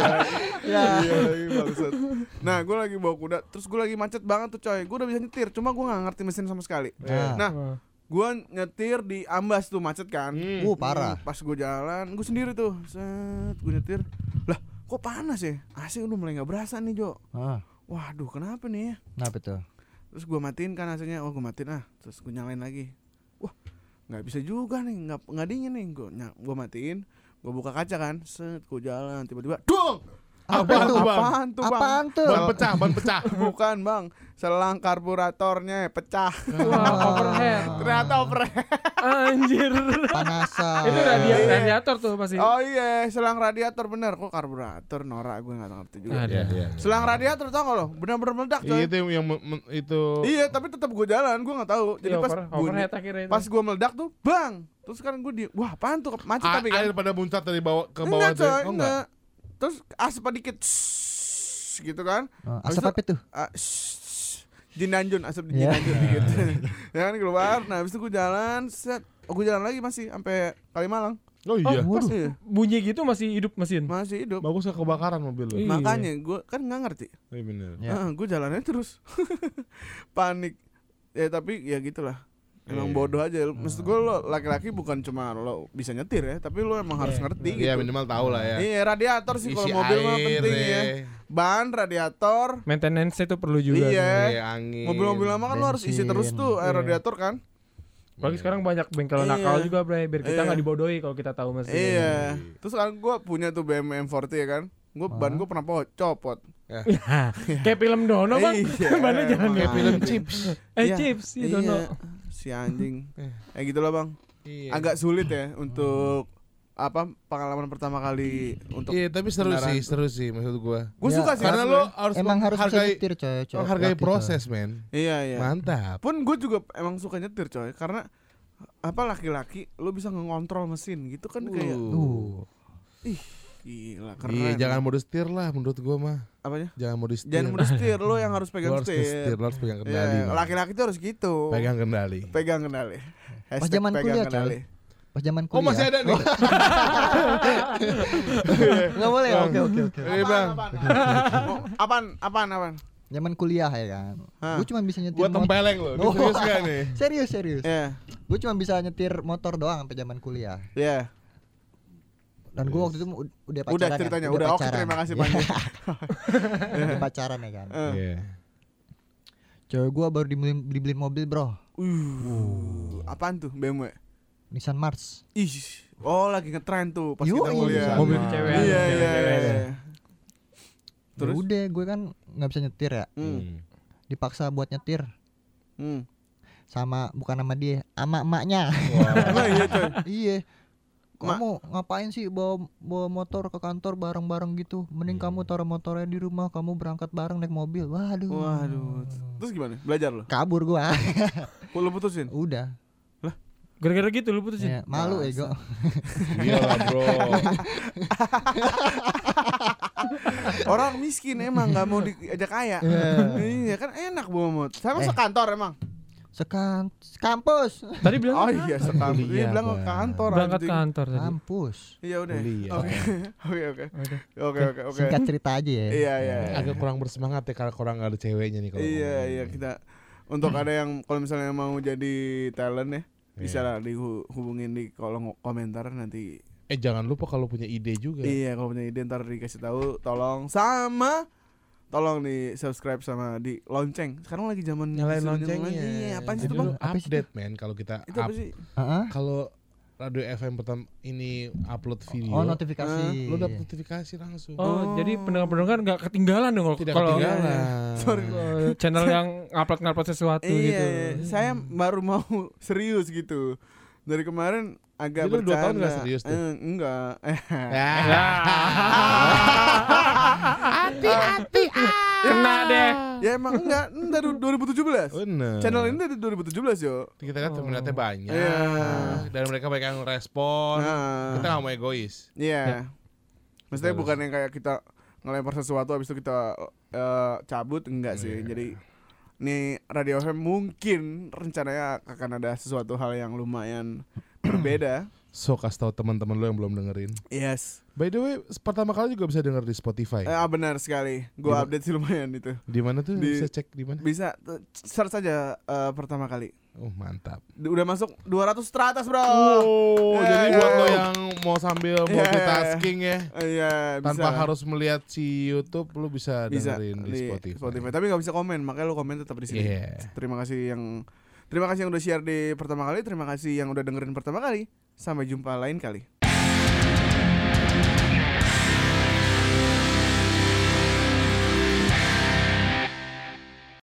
Iya lagi bangsat. Nah gue lagi bawa kuda. Terus gue lagi macet banget tuh coy. Gue udah bisa nyetir. Cuma gue gak ngerti mesin sama sekali. Nah. Nah gue nyetir di Ambas tuh macet kan. Parah. Pas gue jalan gue sendiri tuh. Set gue nyetir. Lah kok panas ya? AC udah mulai gak berasa nih Jo. Ah, Waduh kenapa nih ya? kenapa tuh? Terus gue matiin kan AC-nya. Oh gue matiin terus gue nyalain lagi. Wah nggak bisa juga nih. Nggak dingin nih. Gue matiin. Gue buka kaca kan. Set gue jalan. Tiba-tiba dong. Apaan tuh, Bang? Apaan tuh bang? Apaan tuh? Ban pecah. Bukan bang. Selang karburatornya pecah. Wah, overhead. Ternyata overhead. Anjir. Panasan. Itu radiator tuh pasti. Oh iya selang radiator bener. Kok karburator norak gue gak ngerti juga. Ada. Selang radiator tau gak lo? Bener-bener meledak coy. Itu yang itu. Iya tapi tetap gue jalan. Gue gak tahu. Jadi Iya, pas overhead akhirnya itu. pas gue meledak tuh bang. Terus sekarang gue wah apaan tuh macet tapi kan. Air pada muncrat dari bawah ke bawah Enggak tuh. coy, Oh, enggak. Terus asap dikit gitu kan. Habis Asap itu, apa tuh? Jinanjun, asap di Iya. Jinanjun dikit. Ya kan keluar. Nah, habis itu gue jalan, gue jalan lagi masih sampai Kalimalang. Oh iya. Waduh. Iya, Bunyi gitu masih hidup mesin. masih hidup. Bagus gak kebakaran mobil lo. Iya. Makanya gue kan nggak ngerti. Iya bener. Ya. Gue jalannya terus panik. Ya tapi ya gitulah. Emang Iya. bodoh aja. Maksud gue lo laki-laki bukan cuma lo bisa nyetir ya, tapi lo emang harus ngerti gitu. Iya minimal tahu lah ya. Iya radiator sih kalau Isi mobil mah air, penting ya. Ban, radiator. Maintenance itu perlu juga. Iya. Iya, angin. Mobil-mobil lama kan lo harus isi bensin. terus tuh air Iya. radiator kan. Apalagi sekarang banyak bengkel Iya. nakal juga, Bray, biar kita Iya. nggak dibodohi kalau kita tahu mesin. Iya. Terus kan gue punya tuh BMW M40 ya kan. Gue ban gue pernah copot. Kayak film Dono, Bang. Iya. Bannya jangan Makanya. kayak film Chips. Iya. Chips, ya Iya. Dono. Si anjing. Gitu lah bang. Iya. Agak sulit ya untuk apa pengalaman pertama kali untuk. Iya, tapi seru kendaraan. sih maksud gua. Gue Ya, suka sih. Karena asli. lo harus Emang harus bisa menghargai nyetir coy. menghargai laki, coy. proses, men. Iya iya. Mantap. Pun gue juga emang suka nyetir coy. Karena apa laki-laki lu bisa ngontrol mesin gitu kan kayak ih gila keren. Iya, jangan mode setir lah menurut gua mah. Apanya? Jangan mode setir. Jangan mode setir, lo yang harus Lu pegang harus setir. lu harus pegang kendali. Iya, Bang. laki-laki tuh harus gitu. Pegang kendali. Pegang kendali. Pas zaman kuliah, Pas zaman kuliah. Oh, masih ada nih. Enggak boleh. Oke. Iya, Bang. Apaan? Zaman kuliah ya kan. Hah. Gue cuma bisa nyetir Gua tempeleng lo. Ini serius gak nih? Serius. Iya. Gue cuma bisa nyetir motor doang sampai zaman kuliah. Iya. Dan gue waktu itu udah pacaran. Udah ceritanya, kan? udah oke pacaran. terima kasih banyak. Udah pacaran ya kan. Iya. Cewek gue baru dibeliin mobil bro. Apaan tuh BMW? Nissan Mars. Ih, oh lagi ngetren tuh pas Yoi. kita kuliah. Mobil cewek. Iya. Terus Terus? udah gue kan nggak bisa nyetir ya. Dipaksa buat nyetir sama bukan sama dia, sama emaknya. Emang iya coy. Iya. Kamu ngapain sih bawa motor ke kantor bareng-bareng gitu? Mending kamu taruh motornya di rumah, kamu berangkat bareng naik mobil. Waduh. Terus gimana? Belajar lo? Kabur gua. Lu putusin? Udah. Gara-gara gitu lu putusin. Ya, malu ego. Iya lah, Bro. Orang miskin emang nggak mau diajak kaya. Iya kan enak bawa motor. Sama sekantor emang. Kampus. Tadi bilang Oh iya sekantor. Dia Kuliah, bilang ke Bang. kantor. berangkat anjing. kantor tadi. Kampus. Iya udah. Kuliah. Oke. Singkat cerita aja ya. Iya. Agak kurang bersemangat ya kalau kurang ada ceweknya nih kalau. Iya kita untuk ada yang kalau misalnya mau jadi talent ya bisa lah dihubungin di kolom komentar nanti. Jangan lupa kalau punya ide juga. Iya kalau punya ide ntar dikasih tahu tolong di subscribe sama di lonceng. Sekarang lagi zaman Nyalain disuruh loncengnya. Iya, apaan sih Jadi itu bang? lu update men kalau kita Itu apa sih? kalau Radio FM pertama ini upload video. Oh, notifikasi. Lu dapat notifikasi langsung. Oh, jadi pendengar-pendengar nggak ketinggalan dong Tidak kalau ketinggalan. Sorry. channel yang ngupload sesuatu gitu. Iya, saya baru mau serius gitu. Dari kemarin agak Jadi lu 2 tahun bercanda. nggak serius tuh? Enggak. Hati-hati. Kena deh. Ya emang enggak, dari 2017. Bener. Channel ini dari 2017 yo. Kita kan peminatnya banyak. Iya. Dan mereka banyak yang respon. Nah. Kita gak mau egois. Iya. Maksudnya Betul. bukan yang kayak kita ngelempar sesuatu habis itu kita cabut, enggak sih. Iya. Jadi nih Radio FM mungkin rencananya akan ada sesuatu hal yang lumayan berbeda. So kasih tahu teman-teman lo yang belum dengerin. Yes. By the way, pertama kali juga bisa denger di Spotify. Benar sekali. Gua Gimana? update sih lumayan itu. Di mana tuh Di- bisa cek di mana? Bisa search saja pertama kali. Oh, mantap. Udah masuk 200 teratas, Bro. Oh, Ya, jadi ya. buat lo yang mau sambil Ya. multitasking ya, Iya, tanpa bisa. harus melihat si YouTube, lo bisa dengerin di Spotify. Tapi nggak bisa komen, makanya lu komen tetap di sini. Iya. Terima kasih yang udah share di pertama kali, terima kasih yang udah dengerin pertama kali. Sampai jumpa lain kali.